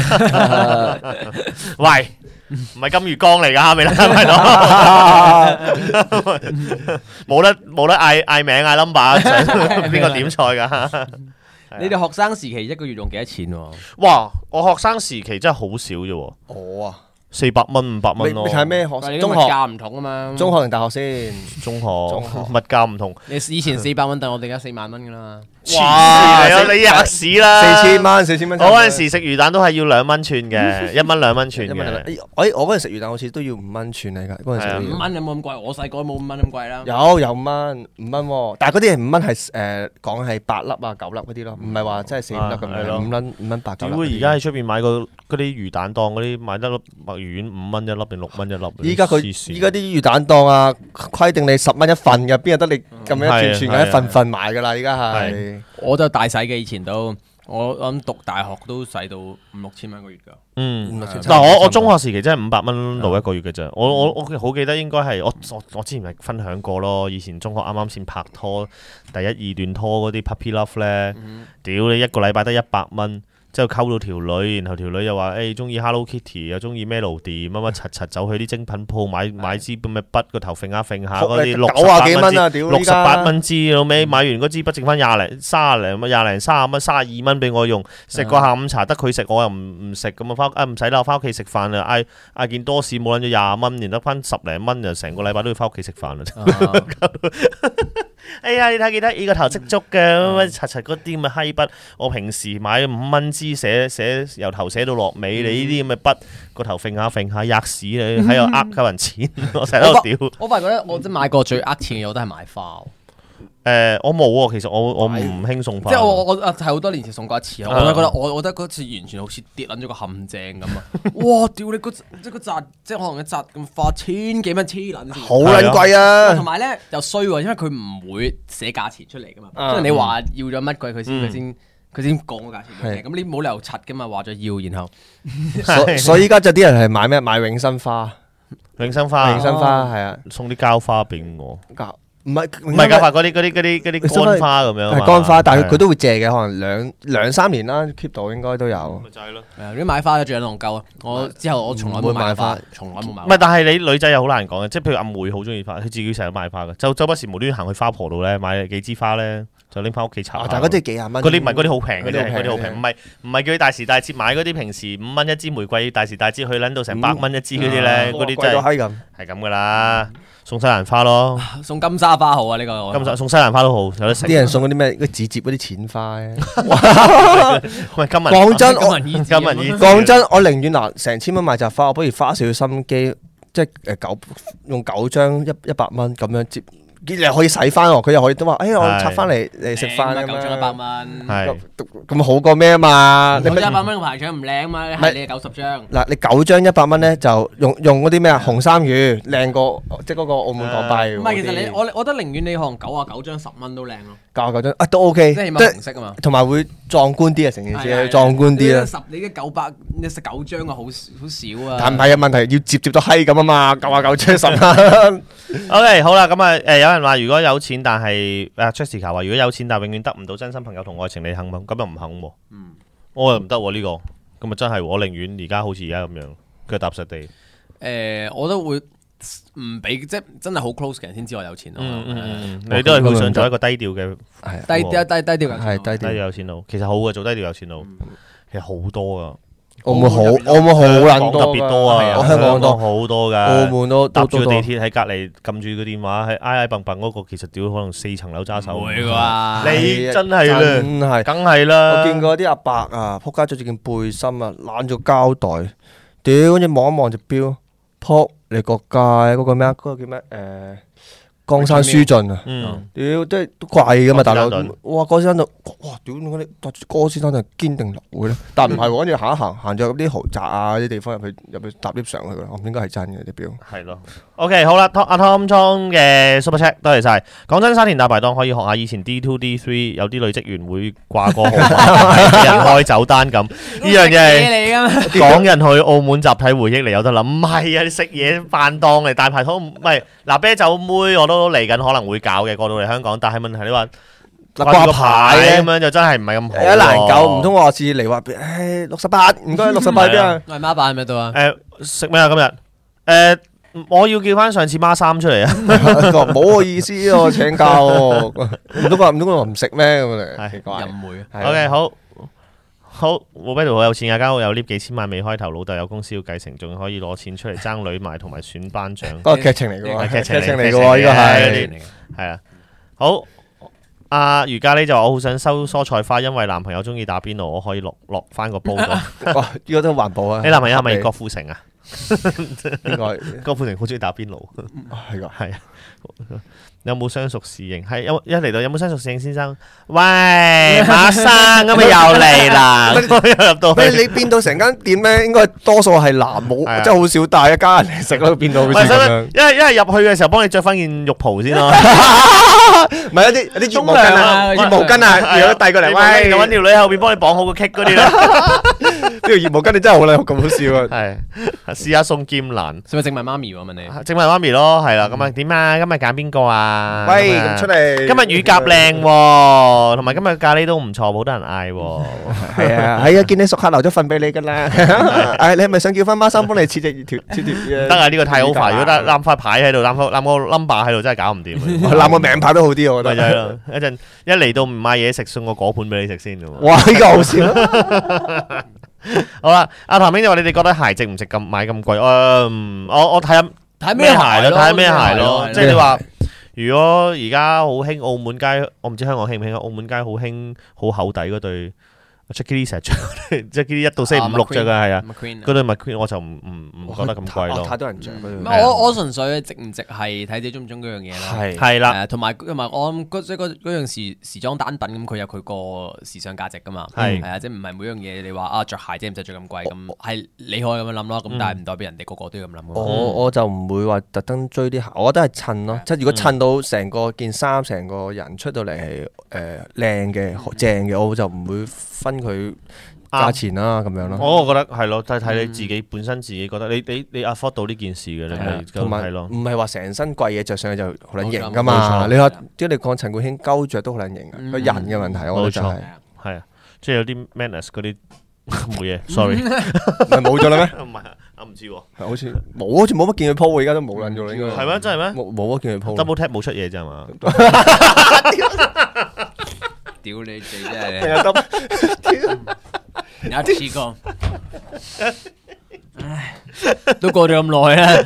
喂，唔係金魚缸嚟㗎，咪啦，冇得嗌名嗌 number， 邊個點菜㗎？ 你哋學生時期一個月用幾多錢？ 哇，我學生時期真係好少啫。 我啊。 400蚊500蚊咯。 你睇咩學？ 中學價唔同啊嘛。 中學定大學先？ 中學物價唔同。 你以前400蚊，但我哋而家4萬蚊噶啦。 哇！你吔屎啦 ！4000蚊。 我嗰陣時食魚蛋都係要2蚊串嘅，1蚊2蚊串嘅。 我嗰陣食魚蛋好似都要5蚊串嚟㗎。嗰陣時 5蚊有冇咁貴？我細個冇5蚊咁貴啦。 有5蚊5蚊喎，但係嗰啲係5蚊係講係8粒啊9粒嗰啲咯，唔係話真係4、5粒咁樣。5蚊8、9粒。 如果而家喺出邊買個嗰啲魚蛋檔嗰啲買得粒墨魚丸5蚊一粒定6蚊一粒？依家啲魚蛋檔啊，規定你10蚊一份嘅，邊有得你咁樣一串串一份份買㗎啦？依家係。 我都大洗嘅，以前都我諗讀大學都使到5,000-6,000蚊一個月㗎。 嗱我中學時期真係500蚊路一個月嘅啫。我好記得應該係我之前咪分享過咯。以前中學啱啱先拍拖，第一二段拖嗰啲 puppy love 咧，屌你一個禮拜得100蚊。之後溝到條女，然後條女又話誒中意 Hello Kitty，又中意 Melody，乜乜柒走去啲精品鋪買支咁嘅筆，個頭揈下嗰啲 90幾蚊啊，屌 68蚊支，老尾買完嗰支筆剩翻20零30蚊32蚊俾我用，食個下午茶得佢食，我又唔食咁啊唔使啦，我翻屋企食飯啦，嗌件多士冇撚咗20蚊，然得翻10零蚊，就成個禮拜都要翻屋企食飯啦。哎呀，你睇記得呢個頭積足嘅乜柒嗰啲咁嘅閪筆，我平時買5蚊支寫由頭寫到落尾，你呢啲咁嘅筆個頭揈下吔屎你喺度鳩人錢，我成日喺度屌。 我發覺咧，我真買過最呃錢嘅我都係買花。 我冇喎，其實我唔興送花。 即係我係好多年前送過一次，我覺得嗰次完全好似跌撚咗個陷阱咁啊！哇，屌你即係紮，即係可能一紮咁花1000幾蚊黐撚線， 好撚貴啊！ 同埋咧又衰喎，因為佢唔會寫價錢出嚟噶嘛，即係你話要咗乜鬼佢先講個價錢嘅，咁你冇理由柒噶嘛，話咗要然後， 所以依家就啲人係買咩？買永生花， 永生花係啊， 送啲膠花俾我。 唔係膠花嗰啲乾花咁樣， 係乾花，但係佢都會借嘅，可能兩三年啦 keep 到應該都有。 咪就係咯。 啲買花最撚戇鳩啊！我之後我從來冇買花，從來冇買。 唔係，但係你女仔又好難講嘅，即係譬如阿妹好中意花，佢自己成日買花嘅，周不時無端端行去花婆度咧買幾支花咧，就拎翻屋企插。 但係嗰啲幾廿蚊。 嗰啲唔係嗰啲好平嘅啫，嗰啲好平，唔係叫佢大時大節買嗰啲，平時5蚊一支玫瑰，大時大節去撚到成100蚊一支嗰啲咧，嗰啲真係係咁噶啦。送西蘭花咯， 送金沙花好啊！呢個送西蘭花都好，有得食。 啲人送嗰啲咩紙摺嗰啲淺花咧。 喂， 講真，講真，我寧願成千蚊買扎花，我不如花少少心機，即係用9張100蚊咁樣接。你可以洗翻喎，佢又可以都話，我拆翻嚟食飯咁樣。9 張100蚊， 係咁好過咩啊嘛？ 你100蚊個排場唔靚嘛？係你90張。 嗱，你9張100蚊咧，就用嗰啲咩啊？紅衫魚靚過即係嗰個澳門港幣。 唔係，其實我覺得寧願你可能99張10蚊都靚咯。 99張都 OK， 即係起碼紅色啊嘛。 同埋會壯觀啲啊，成件事壯觀啲啊。 你嘅900，你食9張啊，好少啊。 但唔係啊，問題要接到閪咁啊嘛，99張10蚊。 OK， 好啦，咁啊有人話如果有錢，但係Jessica 話如果有錢，但係永遠得唔到真心朋友同愛情，你肯唔？咁又唔肯喎。我又唔得喎呢個，咁啊真係我寧願而家好似而家咁樣腳踏實地。 我都會唔俾，即係真係好 close 嘅人先知我有錢咯。 你都係會想做一個低調嘅， 低調有錢佬。其實好嘅，做低調有錢佬，其實好多噶。 澳門好撚多， 特別多啊！ 香港多好多噶， 澳門都搭住個地鐵喺隔離撳住個電話，喺挨笨笨嗰個，其實屌可能4層樓揸手。 會啩？ 你真係啦，梗係啦。 我見過啲阿伯啊，仆街着住件背心啊，攬住膠袋，屌跟住望一望隻錶，仆你個街嗰個咩啊？嗰個叫咩？江山書盡啊！屌，即係都貴噶嘛，大佬。哇，哥先生就哇，屌你搭住哥先生就堅定流會咧。但唔係喎，跟住行咗啲豪宅啊啲地方入去搭 lift 上去噶啦。我應該係真嘅啲表。係咯。OK， 好啦，阿 Tom 莊嘅 Super Chat， 多謝晒。講真，沙田大排檔可以學下以前 D2D3 有啲女職員會掛個號碼，人開酒單咁。呢樣嘢係港人去澳門集體回憶嚟，有得諗。唔係啊，你食嘢飯檔嚟大排檔，唔係嗱啤酒妹我都嚟緊可能會搞嘅，過到嚟香港。但係問題你話掛牌咁樣就真係唔係咁好。 一難搞，唔通我次嚟話68，唔該68邊啊？ 係孖版喺咪度啊？ 食咩啊今日？我要叫翻上次孖3出嚟啊！ 冇個意思喎，請教喎，唔通我唔食咩咁嚟？奇怪。 淫梅。 OK， 好，我邊度好有錢啊！間屋有 lift 幾千萬未開頭，老豆有公司要繼承，仲可以攞錢出嚟爭女賣同埋選班長。 嗰個劇情嚟嘅喎， 劇情嚟嘅喎，呢個係啊。好，阿余嘉呢就話我好想收蔬菜花，因為男朋友中意打邊爐，我可以落翻個煲度。 哇！呢個都環保啊！ 你男朋友係咪郭富城啊？ 應該郭富城好中意打邊爐， 係㗎。 係啊。有冇相熟侍應？係一嚟到有冇相熟侍應先生？喂，馬生咁咪又嚟啦！入到去， 你變到成間店咧，應該多數係男冇，即係好少帶一家人嚟食咯，變到好似咁樣。 一係入去嘅時候，幫你着翻件浴袍先咯。 唔係有啲浴毛巾啊，浴毛巾啊，如果遞過嚟，喂， 就揾條女喺後邊幫你綁好個 kick 嗰啲啦。 呢條浴毛巾你真係好靚，咁好笑啊！ 係試下送劍蘭， 使咪整埋媽咪喎？問你整埋媽咪咯，係啦。咁啊點啊？今日揀邊個啊？ 喂，咁出嚟！ 今日乳鴿靚喎，同埋今日咖喱都唔錯，好多人嗌喎。 係啊，見你熟客留咗份俾你㗎啦。你係咪想叫翻孖生幫你切條？ 得啊，呢個太好快。如果得攬塊牌喺度，攬個 number 喺度，真係搞唔掂。 攬個名牌都好啲，我覺得。 咪就係咯，一陣一嚟到唔買嘢食，送個果盤俾你食先喎。 哇！呢個好笑。 好啦，阿譚兄就話：你哋覺得鞋值唔值咁買咁貴？我睇下咩鞋咯， 睇下咩鞋咯。即係你話。如果而家好興澳門街，我唔知香港興唔興啊？澳門街好興好厚底嗰對 Jackie Lee 成日着，Jackie Lee 1到4、5、6着嘅係啊，嗰對 McQueen 我就唔覺得咁貴咯。 太多人着我純粹值唔值係睇自己中唔中嗰樣嘢啦。 係啦， 同埋我諗即係嗰樣時裝單品咁，佢有佢個時尚價值噶嘛。係啊，即係唔係每樣嘢你話啊着鞋啫，唔使着咁貴咁，係你可以咁樣諗咯。咁但係唔代表人哋個個都要咁諗。 我就唔會話特登追啲鞋，我覺得係襯咯。即係如果襯到成個件衫、成個人出到嚟係靚嘅、正嘅，我就唔會分佢價錢啦咁樣咯。 我覺得係咯，睇你自己本身自己覺得你 afford 到呢件事嘅，你咪同埋咯。 唔係話成身貴嘢着上去就好撚型噶嘛。你話即係你講陳冠希鳩着都好撚型嘅，個人嘅問題我覺得就係啊，即係有啲 manners 嗰啲冇嘢，sorry， 係冇咗啦咩？ 唔係我唔知喎， 好似冇乜見佢 po 喎，而家都冇撚咗啦，應該係咩？真係咩？ 冇乜見佢 po。 Double tap 冇出嘢咋嘛？ 屌你哋真係，有一次過，唉，都過咗咁耐啦。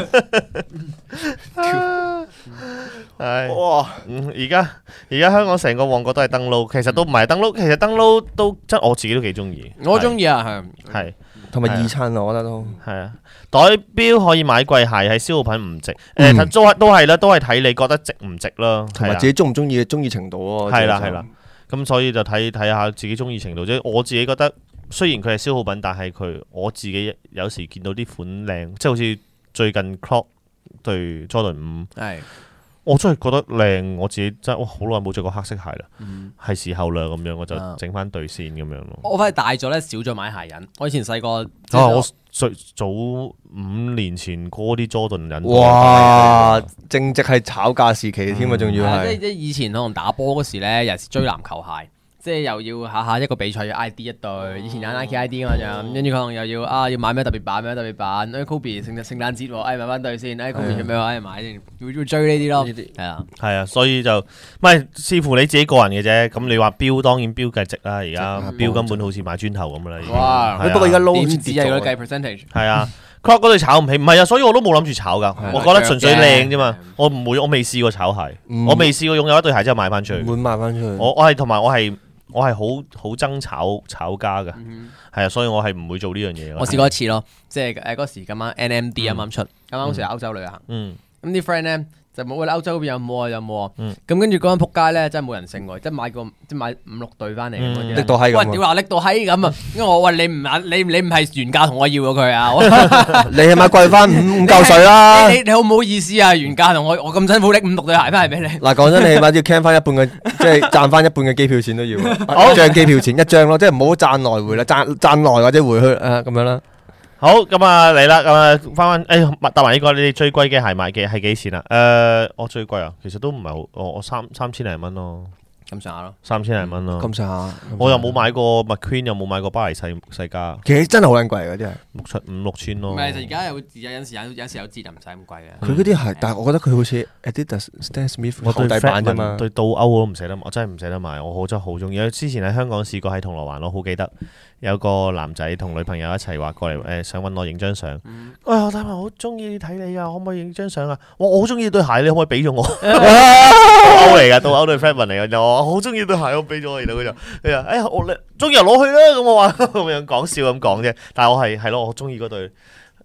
係哇，而家香港成個旺角都係登撈，其實都唔係登撈，其實登撈都真我自己都幾中意。 我中意啊， 係同埋易襯啊，我覺得都係啊。袋錶可以買貴鞋，係消耗品唔值。都係啦，都係睇你覺得值唔值咯， 同埋自己中唔中意嘅中意程度咯。 係啦。咁所以就睇下自己中意程度啫。我自己覺得雖然佢係消耗品，但係我自己有時見到啲款靚，即係好似最近 Clock 對 Jordan 5，我真係覺得靚。我自己真係好耐冇着過黑色鞋啦，係時候啦咁樣，我就整翻對先咁樣咯。 我反而大咗咧，少咗買鞋癮。我以前細個我早5年前嗰啲 Jordan 癮， 哇！正值係炒價時期添啊，仲要係即係以前可能打波嗰時咧，尤其是追籃球鞋。即係又要下一個比賽要 ID 一對，以前有 Nike ID 噶嘛就，跟住可能又要買咩特別版，Kobe 聖誕節喎，買翻對先，Kobe 做咩買先，會追呢啲咯， 係啊，所以就唔係視乎你自己個人嘅啫。咁你話錶當然錶計值啦，而家錶根本好似買磚頭咁啦。 哇！ 不過而家撈點止係嗰計 percentage？ 係啊，Clock 嗰對炒唔起，唔係啊，所以我都冇諗住炒噶。我覺得純粹靚啫嘛，我未試過炒鞋，我未試過擁有一對鞋之後賣翻出去。 會賣翻出去。 我係好憎炒家嘅，係啊，所以我係唔會做呢樣嘢。 我試過一次咯，即係嗰時咁啱 NMD 啱啱出，啱啱嗰時歐洲旅行，咁啲 friend 咧就冇啦，歐洲嗰邊有冇啊？咁跟住嗰間仆街咧真係冇人性喎，即係買5、6對翻嚟， 拎到閪咁。 喂，屌話拎到閪咁啊！因為我話你唔係原價同我要咗佢啊！ 你係咪貴翻5嚿水啦？ 你好唔好意思啊？原價同我咁辛苦拎5、6對鞋翻嚟俾你。 嗱，講真，你起碼要 can 翻一半嘅，即係賺翻一半嘅機票錢都要。一張機票錢一張咯，即係唔好賺來回啦，賺來或者回去咁樣啦。 好，咁啊嚟啦，咁啊翻，答埋呢個，你哋最貴嘅鞋買嘅係幾錢啊？我最貴啊，其實都唔係好，我三千零蚊咯， 咁上下咯 ，3000零蚊咯， 咁上下。 我又冇買過 McQueen，又冇買過巴黎世家， 其實真係好撚貴嗰啲係 5、6千咯。 唔係，就而家有時有折就唔使咁貴嘅。 佢嗰啲係，但係我覺得佢好似 Adidas Stan Smith 厚底版啫嘛。 對倒歐我都唔捨得，我真係唔捨得買，我真係好中意。之前喺香港試過喺銅鑼灣，我好記得。有個男仔同女朋友一齊話過嚟想揾我影張相。我大文好中意睇你啊，可唔可以影張相啊？我好中意對鞋，你可唔可以俾咗我？倒歐嚟㗎，倒歐對 friend 嚟㗎，我好中意對鞋，我俾咗我。然後佢就我中意就攞去啦。咁我話咁樣講笑咁講啫。但係我係咯，我中意嗰對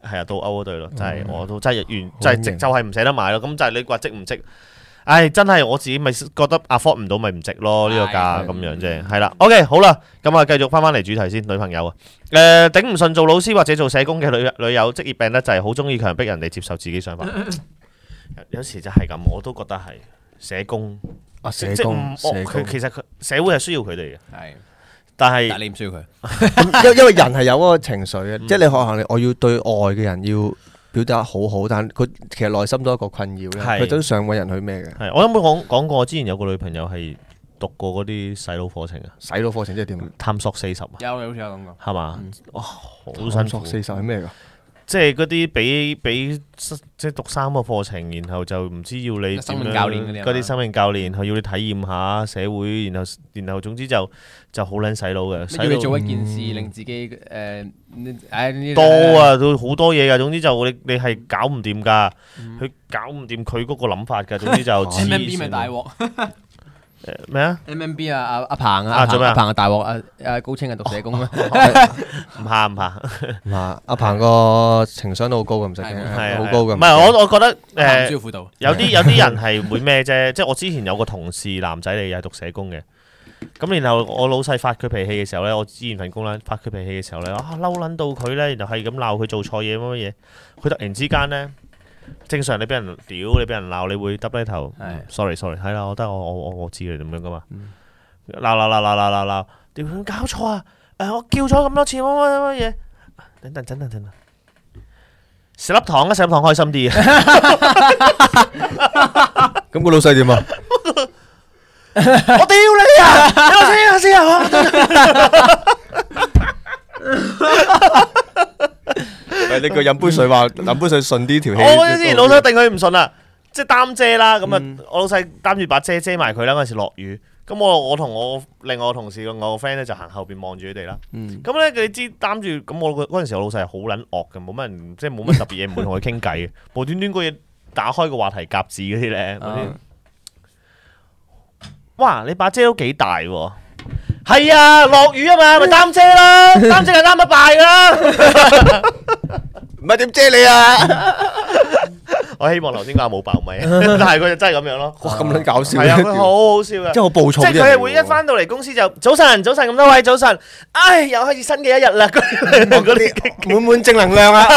係啊，到歐嗰隊咯，就係我都真係完，就係值就係唔捨得買咯。咁就係你話值唔值？唉，真係我自己咪覺得 afford 唔到咪唔值咯，呢個價咁樣啫。係啦，OK 好啦，咁啊繼續翻嚟主題先，女朋友啊，頂唔順做老師或者做社工嘅女友，職業病咧就係好中意強迫人哋接受自己想法。有時就係咁，我都覺得係社工佢其實社會係需要佢哋嘅，但係你唔需要佢， 因為人係有嗰個情緒嘅，即係你可能我要對外嘅人要表達好好，但佢其實內心都係一個困擾嘅，佢都想揾人去咩嘅。 係我有冇講過？我之前有個女朋友係讀過嗰啲洗腦課程啊。 洗腦課程即係點？探索 40啊。 有好似有咁講。 係嘛？哇，好辛苦。 探索40係咩㗎？ 即係嗰啲俾即係讀3個課程，然後就唔知要你生命教練嗰啲生命教練，佢要你體驗下社會，然後總之就好撚洗腦嘅。 要你做一件事，令自己多啊，都好多嘢㗎。總之就你係搞唔掂㗎，佢搞唔掂佢嗰個諗法㗎。總之就 MMB 咪大鑊。 咩啊 ？MMB 啊，阿鵬啊，做咩？阿鵬啊大鑊啊，高清啊讀社工啊， 唔怕。 阿鵬個情商都好高嘅，唔使驚，好高嘅。 唔係我覺得需要輔導。 有啲人係會咩啫？即係我之前有個同事男仔嚟，又係讀社工嘅。咁然後我老細發佢脾氣嘅時候咧，我之前份工咧發佢脾氣嘅時候咧，嬲撚到佢咧，然後係咁鬧佢做錯嘢乜嘢，佢突然之間咧。正常你俾人屌，你俾人鬧，你會耷低頭。sorry，係啦，我得我知你咁樣噶嘛。鬧，屌搞錯啊！我叫咗咁多次乜嘢？等，食粒糖開心啲啊！ 咁個老細點啊？ 我屌你啊！你我先啊！ 你叫飲杯水話飲杯水順啲條氣。 我之前老細定佢唔順啦，即係擔遮啦，咁啊我老細擔住把遮埋佢啦。嗰陣時落雨，咁我同我另外個同事我個 friend 咧就行後邊望住佢哋啦。咁咧你知擔住咁我嗰陣時我老細係好撚惡嘅，冇乜人即係冇乜特別嘢，唔會同佢傾偈嘅，無端端嗰嘢打開個話題夾字嗰啲咧。哇！你把遮都幾大喎。係啊，落雨啊嘛，咪擔遮啦，擔遮係擔得大噶啦， 唔係點遮你啊？ 我希望頭先嗰下冇爆咪，但係佢就真係咁樣咯。 哇，咁撚搞笑！ 係啊，佢好好笑噶， 即係好暴躁。 即係佢係會一翻到嚟公司就早晨咁多位早晨，唉，又開始新嘅一日啦，嗰啲滿正能量啊！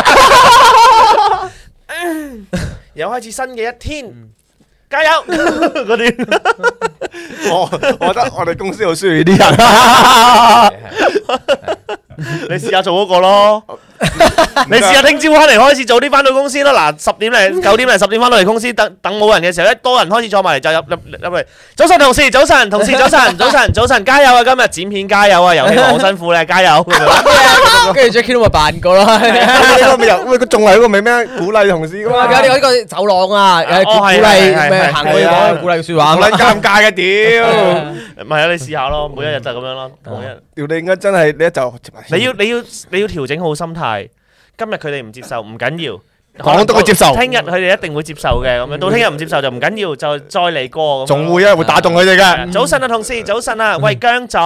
又開始新嘅一天，加油嗰啲。 我覺得我哋公司好需要呢啲人。 你試下做嗰個咯，你試下聽朝翻嚟開始早啲翻到公司啦。嗱，9點10點翻到嚟公司，等冇人嘅時候，一多人開始坐埋嚟就入嚟。早晨同事，早晨，加油啊！今日剪片加油啊！遊戲好辛苦咧，加油。 跟住 Jackie 都咪扮過咯。 喂，佢仲係嗰個咩鼓勵同事噶嘛？ 有呢個走廊啊，鼓勵咩行過去講鼓勵説話， 好撚尷尬嘅屌。 唔係啊，你試下咯，每一日就咁樣咯，每一日。 屌你應該真係你就你要調整好心態。今日佢哋唔接受唔緊要， 講得佢接受。 聽日佢哋一定會接受嘅，咁樣到聽日唔接受就唔緊要，就再嚟過。 仲會會打動佢哋嘅。 早晨啊，同事，早晨啊，喂姜總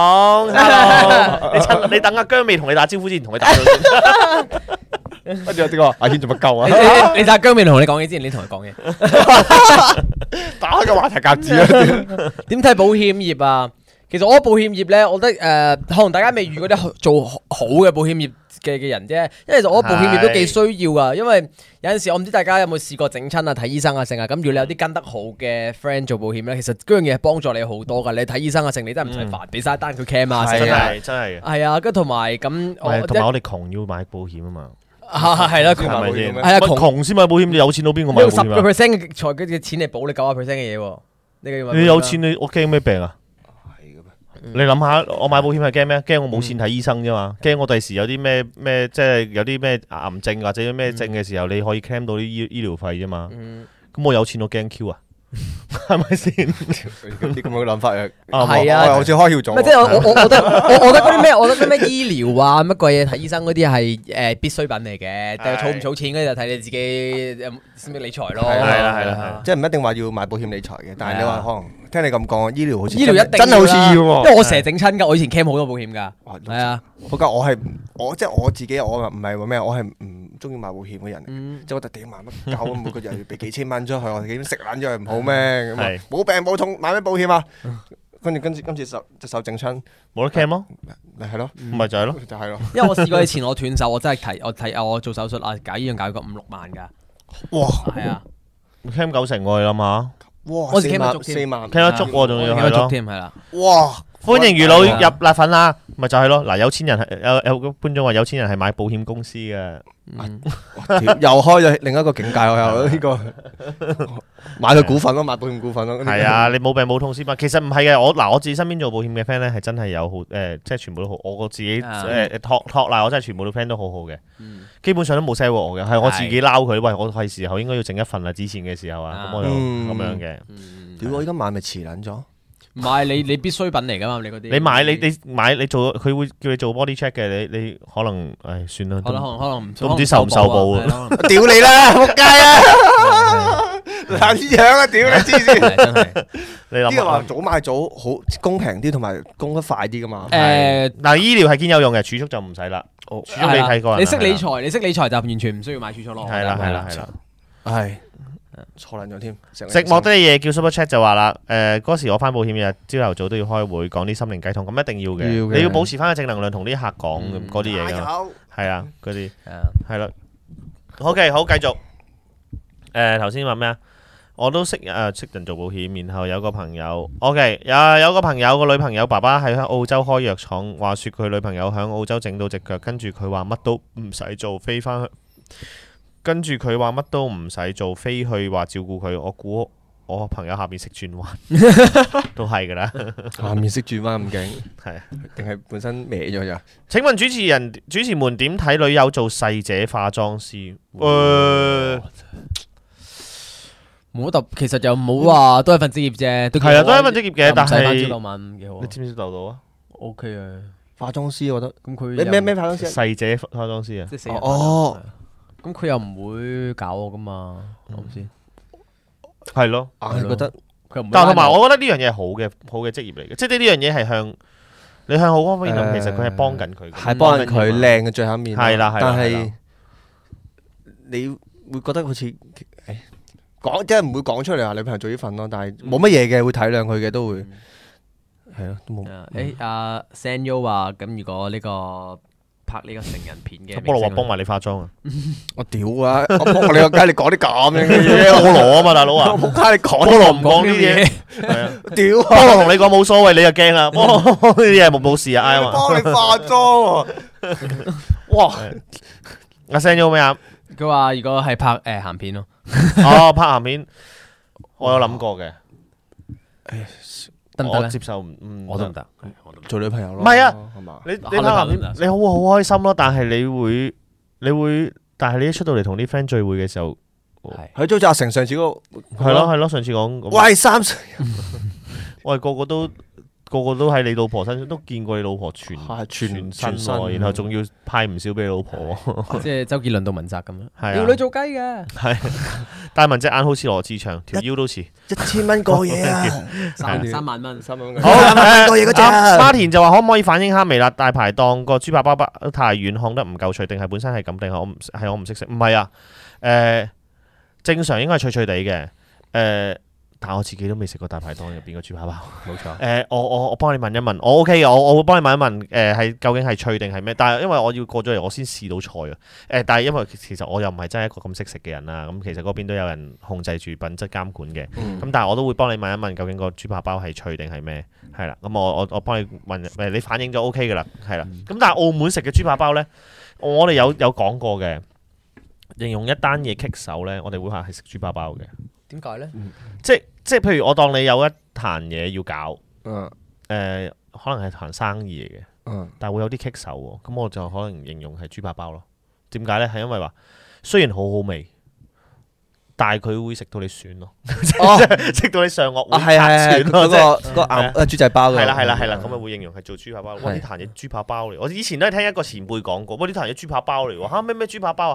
，hello，你等阿姜未同你打招呼之前，同佢打咗先。 跟住呢個阿軒做乜鳩啊？ 你睇姜未同你講嘢之前，你同佢講嘢。 打開個話題夾子啊！ 點睇保險業啊？其實我覺得保險業咧，我覺得可能大家未遇過啲做好嘅保險業嘅人啫。因為其實我覺得保險業都幾需要噶，因為有陣時我唔知大家有冇試過整親啊、睇醫生啊成啊。咁如果你有啲跟得好嘅 friend 做保險咧，其實嗰樣嘢係幫助你好多噶。你睇醫生啊成，你真係唔使煩，俾晒單佢 cam 啊， 真係。 係啊，跟同埋咁， 同埋我哋窮要買保險啊嘛。 係啦， 係咪先？ 係啊， 窮先買保險，你有錢到邊個買保險啊？ 用10% 嘅財嘅錢嚟保你90%嘅嘢喎。 你有錢我驚咩病啊？你諗下，我買保險係驚咩？驚我冇錢睇醫生啫嘛，驚我第時有啲咩即係有啲咩癌症或者咩症嘅時候，你可以 claim 到啲醫療費啫嘛。咁我有錢我驚 Q 啊，係咪先？ 啲咁嘅諗法啊， 係啊， 好似開竅咗。 即係我覺得嗰啲咩，我覺得啲咩醫療啊乜鬼嘢睇醫生嗰啲係必需品嚟嘅，但係儲唔儲錢嗰就睇你自己識唔識理財咯。 係啦， 即係唔一定話要買保險理財嘅，但係你話可能聽你咁講，醫療好似醫療一定真係好似要喎， 因為我成日整親㗎，我以前 cam 好多保險㗎，係啊。 不過我即係我自己，我唔係話咩，我係唔中意買保險嘅人，即係我覺得屌買乜搞，每個月要俾幾千蚊出去，我點食撚咗佢唔好咩？咁啊冇病冇痛買咩保險啊？跟住今次隻手整親， 冇得 cam 咯， 咪係咯， 咪就係咯， 就係咯。 因為我試過以前我斷手，我真係我做手術啊，搞醫院搞個5-6萬㗎。 哇！ 係啊 cam 90%喎，你諗下， 哇！ 我4萬 4萬 ，cam 得足喎，仲要係咯， 添係啦。 哇！ 歡迎魚佬入辣粉啦，咪就係咯。嗱，有錢人係有個觀眾話有錢人係買保險公司嘅， 又開咗另一個境界，我又呢個買佢股份咯，買保險股份咯。 係啊，你冇病冇痛先嘛。其實唔係嘅，我自己身邊做保險嘅 friend 咧係真係有好即係全部都好。我自己托賴，我真係全部都 friend 都好好嘅，基本上都冇 sell 過我嘅，係我自己撈佢。喂，我係時候應該要整一份啦，之前嘅時候啊，咁我就咁樣嘅。 屌，我而家買咪遲撚咗？ 唔係你必需品嚟㗎嘛？你嗰啲你買你做佢會叫你做 body check 嘅，你可能算啦， 可能都唔知受唔受保啊！ 屌你啦，仆街啊！撚樣啊！屌你黐線！ 真係你諗下話早買早好公平啲，同埋供得快啲㗎嘛？ 嗱，醫療係堅有用嘅，儲蓄就唔使啦。儲蓄你睇過， 你識理財就完全唔需要買儲蓄咯。 係啦， 係。錯撚咗添， 食莫得嘢叫 Super Chat 就話啦，嗰時我翻保險日，朝頭早都要開會講啲心靈雞湯，咁一定要嘅，你要保持翻個正能量同啲客講嗰啲嘢㗎，係啊，嗰啲係啦。OK，好繼續。頭先話咩啊？我都識人做保險，然後有個朋友 OK，有個朋友個女朋友爸爸喺澳洲開藥廠，話説佢女朋友喺澳洲整到隻腳，跟住佢話乜都唔使做，飛翻去。跟住佢話乜都唔使做，飛去話照顧佢。我估我朋友下邊識轉彎，都係噶啦。 下面識轉彎咁勁， 係定係本身歪咗咋？ 請問主持們點睇女友做細姐化妝師？ 冇特，其實又冇話都係份職業啫， 係啊，都係一份職業嘅，但係幾好。 你知唔知豆到啊 ？OK 啊， 化妝師我覺得咁佢你咩化妝師？ 細姐化妝師啊？ 哦。 咁佢又唔會搞我噶嘛，係咪先？ 係咯， 我覺得， 但係同埋我覺得呢樣嘢係好嘅職業嚟嘅，即係呢樣嘢係向好方面諗，其實佢係幫緊佢， 係幫緊佢靚嘅最後一面。 係啦， 但係你會覺得好似講即係唔會講出嚟話女朋友做呢份咯，但係冇乜嘢嘅，會體諒佢嘅都會係咯，都冇。 阿 Sanyo 話咁，如果呢個拍呢個成人片嘅， 菠蘿話幫埋你化妝啊！ 我屌啊！我幫你個街，你講啲咁樣嘅嘢， 菠蘿啊嘛，大佬啊！ 我仆街，你講菠蘿唔講呢啲嘢，係啊！ 屌！ 菠蘿同你講冇所謂，你就驚啦！菠蘿呢啲嘢冇事啊！啱啊！ 幫你化妝喎！哇！ 阿 Send 咗咩啊？ 佢話如果係拍鹹片咯， 哦，拍鹹片，我有諗過嘅。 得唔得咧？ 我接受我都唔得， 做女朋友咯。 唔係啊，你拍鹹片，你好開心咯，但係你會，但係你一出到嚟同啲 friend 聚會嘅時候， 係做阿成上次嗰個， 係咯，上次講， 喂30， 我係個個都喺你老婆身上都見過你老婆全身，然後仲要派唔少俾你老婆， 即係周杰倫到文澤咁樣， 係條女做雞嘅， 係，但係文隻眼好似羅志祥，條腰都似 1000蚊過夜啊 ，3萬蚊， 好過夜嗰隻。 馬田就話可唔可以反映下微辣大排檔個豬扒包太軟，烘得唔夠脆，定係本身係咁，定係我唔識食？唔係啊，正常應該係脆脆地嘅，但我自己都未食過大排檔入邊個豬扒包， 冇錯。 我幫你問一問，我 OK 嘅，我會幫你問一問，係究竟係脆定係咩？但係因為我要過咗嚟，我先試到菜啊。但係因為其實我又唔係真係一個咁識食嘅人啦，咁其實嗰邊都有人控制住品質監管嘅。咁但係我都會幫你問一問，究竟個豬扒包係脆定係咩？係啦，咁我幫你問，你反應咗 OK 嘅啦，係啦。咁但係澳門食嘅豬扒包咧，我哋有講過嘅，形容一單嘢棘手咧，我哋會話係食豬扒包嘅。 點解咧？ 即係譬如我當你有一壇嘢要搞，可能係壇生意嚟嘅，但係會有啲棘手喎，咁我就可能形容係豬扒包咯。點解咧？係因為話雖然好好味，但係佢會食到你損咯，食到你上顎會拆損咯，即係個豬仔包嘅。 係啦，咁啊會形容係做豬扒包。哇！呢壇嘢豬扒包嚟，我以前都係聽一個前輩講過，哇！呢壇嘢豬扒包嚟喎，嚇咩豬扒包啊？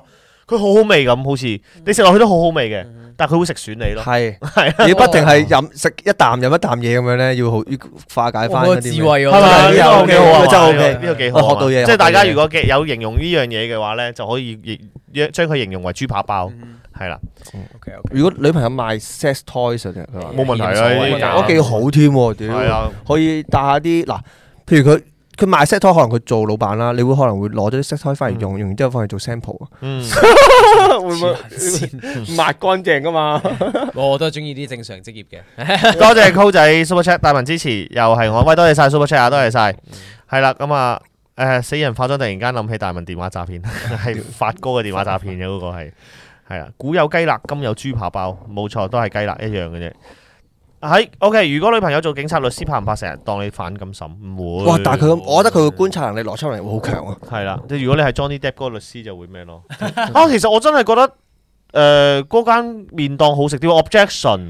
佢好好味咁，好似你食落去都好好味嘅，但係佢會食損你咯。 係，你不停係食一啖飲一啖嘢咁樣咧，要化解翻嗰啲智慧喎， 係咪？呢個幾好啊， 真係 OK， 呢個幾好， 學到嘢。 即係大家如果有形容呢樣嘢嘅話咧，就可以將佢形容為豬扒包，係啦。 如果女朋友賣 sex toys 嘅，佢話冇問題啊， 我幾好添喎，屌，可以帶下啲嗱，譬如佢賣 sex toy，可能佢做老闆啦，你會可能會攞咗啲 sex toy 翻嚟用，用完之後翻去做 sample 啊，會唔會抹乾淨噶嘛？ 我都係中意啲正常職業嘅。 多謝 Cool 仔 Super Chat 大文支持，又係我，喂，多謝晒 Super Chat 啊，多謝晒，係啦，咁啊，死人化妝突然間諗起大文電話詐騙，係發哥嘅電話詐騙嘅嗰個係啊，古有雞肋，今有豬扒包，冇錯，都係雞肋一樣嘅啫。喺 OK， 如果女朋友做警察、律師，怕唔怕成日當你反咁審？唔會。哇！ 但係我覺得佢嘅觀察能力、邏輯能力會好強啊。 係啦，即係如果你係 Johnny Depp 嗰個律師，就會咩咯？啊，其實我真係覺得嗰間麵檔好食啲 objection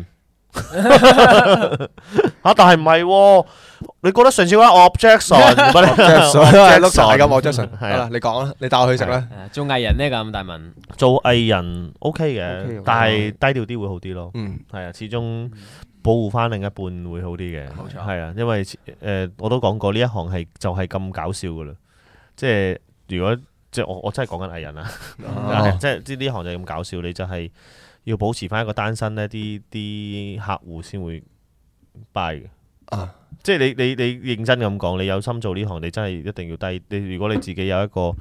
但係唔係喎？你覺得上次嗰間 objection 係碌曬咁 objection 係啦，你講啦，你帶我去食啦。 做藝人咧咁大文， 做藝人 OK 嘅，但係低調啲會好啲咯。係啊，始終。保護翻另一半會好啲嘅，冇錯，係啊，因為我都講過呢一行係就係咁搞笑噶啦，即係如果即係我真係講緊藝人啦，即係呢行就係咁搞笑，你就係要保持翻一個單身呢啲客戶先會 buy 嘅，即係你認真咁講，你有心做呢行，你真係一定要低。你如果你自己有一個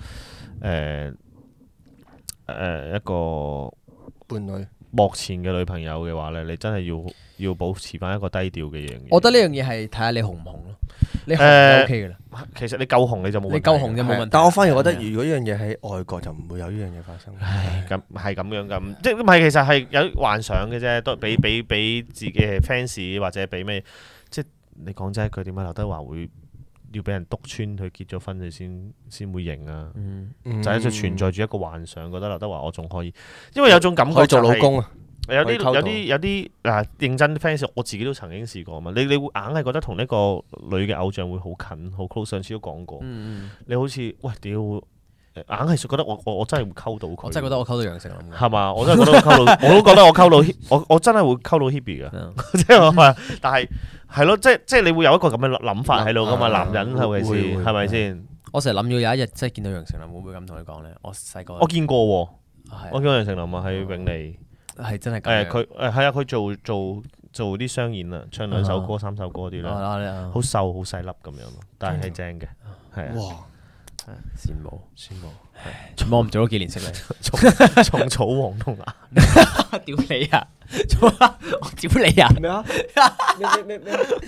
一個伴侶。 目前嘅女朋友嘅話咧，你真係要保持翻一個低調嘅嘢。 我覺得呢樣嘢係睇下你紅唔紅咯。你紅就 OK 嘅啦。 其實你夠紅你就冇問題。 你夠紅就冇問題。 但我反而覺得，如果呢樣嘢喺外國就唔會有呢樣嘢發生。 咁係咁樣咁，即係唔係其實係有幻想嘅啫，都俾自己嘅 fans 或者俾咩？即係你講真一句，點解劉德華會要俾人篤穿佢結咗婚佢先會認啊？就係存在住一個幻想，覺得劉德華我仲可以，因為有種感覺可以做老公啊。 有啲嗱認真 fans， 我自己都曾經試過嘛。你會硬係覺得同呢個女嘅偶像會好近好 close， 上次都講過。你好似喂屌，硬係覺得我真係會溝到佢。 我真係覺得我溝到楊丞琳。 係嘛？我真係覺得我溝到，我都覺得我溝到，我真係會溝到 Hebe 嘅。即係我話，但係係咯，即係你會有一個咁嘅諗法喺度噶嘛？男人係咪先？係咪先？ 我成日諗咗有一日真係見到楊丞琳，會唔會咁同佢講咧？我細個我見過喎，我見過楊丞琳啊，喺永利。 係真係咁。 佢係啊，佢做啲商演啊，唱2首歌3首歌嗰啲咧，好瘦好細粒咁樣咯，但係正嘅，係啊。哇！ 羨慕，我唔做咗幾年識你， 蟲草黃龍啊！ 屌你啊！我屌你啊！ 咩啊？咩？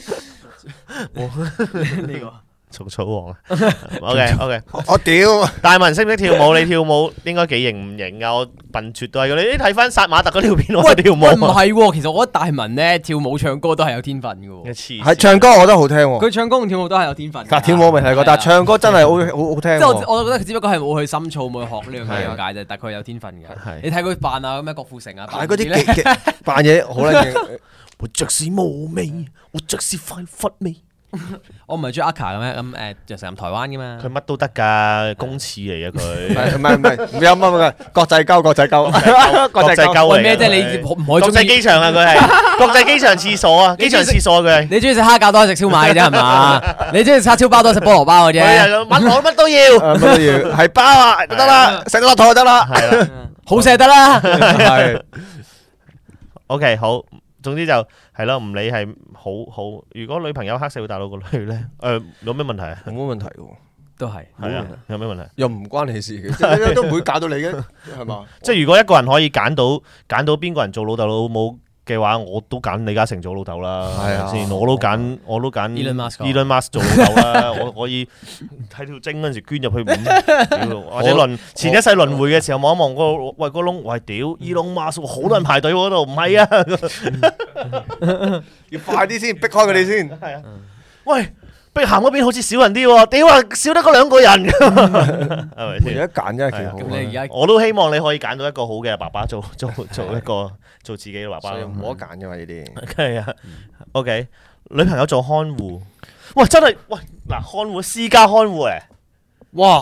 呢個。 蟲草王啊 ，OK， 我屌！ 大文識唔識跳舞？你跳舞應該幾型唔型啊？我笨拙都係你睇翻殺馬特嗰條片，我跳舞。 唔係喎，其實我覺得大文咧跳舞唱歌都係有天分嘅喎。 係唱歌我覺得好聽喎。 佢唱歌同跳舞都係有天分。 但跳舞未睇過，但係唱歌真係好聽。 即係我覺得佢只不過係冇去深造，冇去學呢樣嘢咁解啫。但係佢有天分嘅。你睇佢扮啊，咁樣郭富城啊， 扮嗰啲扮嘢好撚勁。 我著是無味，我著是快佛味。 我唔係中意阿卡嘅咩？咁就成日台灣嘅嘛。 佢乜都得㗎，公廁嚟嘅佢。 唔有乜國際鳩國際鳩嚟咩啫？你唔可以國際機場啊！佢係國際機場廁所啊！機場廁所佢係。 你中意食蝦餃多係食燒賣嘅啫係嘛？你中意叉燒包多係食菠蘿包嘅啫。 我乜都要， 乜都要，係包啊得啦，食落肚就得啦， 係啦， 好食得啦。 係。 OK， 好。總之就係咯，唔理係好。如果女朋友黑社會大佬個女咧，有咩問題啊？ 冇乜問題嘅， 都係。 係啊，有咩問題？ 又唔關你事嘅，都唔會搞到你嘅，係嘛？ 即係如果一個人可以揀到邊個人做老豆老母嘅話，我都揀李嘉誠做老豆啦，係咪先？我都揀 Elon Musk 做老豆啦。我可以睇條精嗰陣時捐入去或者前一世輪迴嘅時候望一望個窿，喂屌 Elon Musk 好多人排隊嗰度，唔係啊， 要快啲先，逼開佢哋先。 係啊，喂，碧咸嗰邊好似少人啲喎，屌啊，少得嗰2個人，係咪先？ 有得揀真係幾好。 我都希望你可以揀到一個好嘅爸爸做一個做自己嘅爸爸。 冇得揀嘅嘛呢啲。 係啊 ，OK， 女朋友做看護，喂真係喂嗱看護私家看護誒， 哇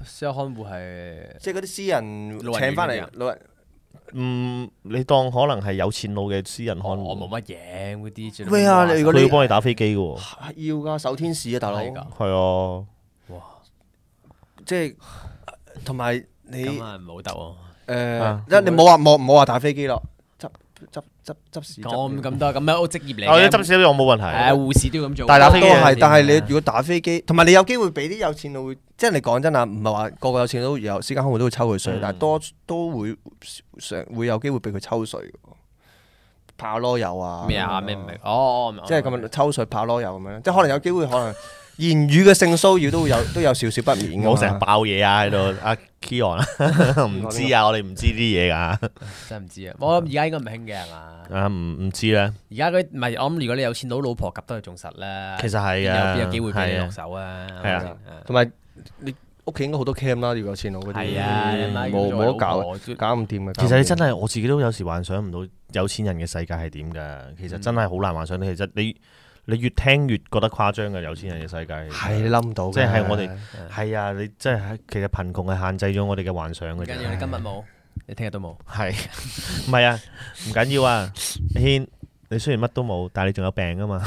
私有看護係即係嗰啲私人請翻嚟老人。 你當可能係有錢佬嘅私人看護， 我冇乜嘢嗰啲。 咩啊？如果你佢要幫你打飛機嘅喎， 要㗎，守天使啊，大佬。 係啊， 哇！ 即係同埋你咁啊，唔好得喎。 你冇話打飛機咯，執屎。 咁多咁樣職業嚟嘅。執屎我冇問題。 護士都要咁做。 但係打飛機係，但係你如果打飛機，同埋你有機會俾啲有錢佬會，即係你講真啊，唔係話個個有錢佬有私家看護都會抽佢水，但係都會有機會俾佢抽水。跑囉柚啊！ 咩啊？咩唔明？哦， 即係咁樣抽水跑囉柚咁樣，即係可能有機會，可能言語嘅性騷擾都有少少不免。 唔好成日爆嘢啊喺度，阿 Kion 唔知啊，我哋唔知啲嘢㗎。 真係唔知啊！我諗而家應該唔興嘅係嘛？ 唔知咧。 而家唔係我諗，如果你有錢佬老婆夾得佢仲實啦。 其實係啊， 邊有機會俾你落手啊？ 係啊， 同埋你屋企應該好多 cam 啦，如果有錢佬嗰啲。 係啊， 冇得搞唔掂嘅。 其實你真係我自己都有時幻想唔到有錢人嘅世界係點㗎。其實真係好難幻想。其實你越聽越覺得誇張嘅有錢人嘅世界。 係你諗唔到。 即係我哋係啊！你真係其實貧窮係限制咗我哋嘅幻想嘅。 唔緊要，你今日冇，你聽日都冇。 係唔係啊？唔緊要啊，軒，你雖然乜都冇，但係你仲有病啊嘛。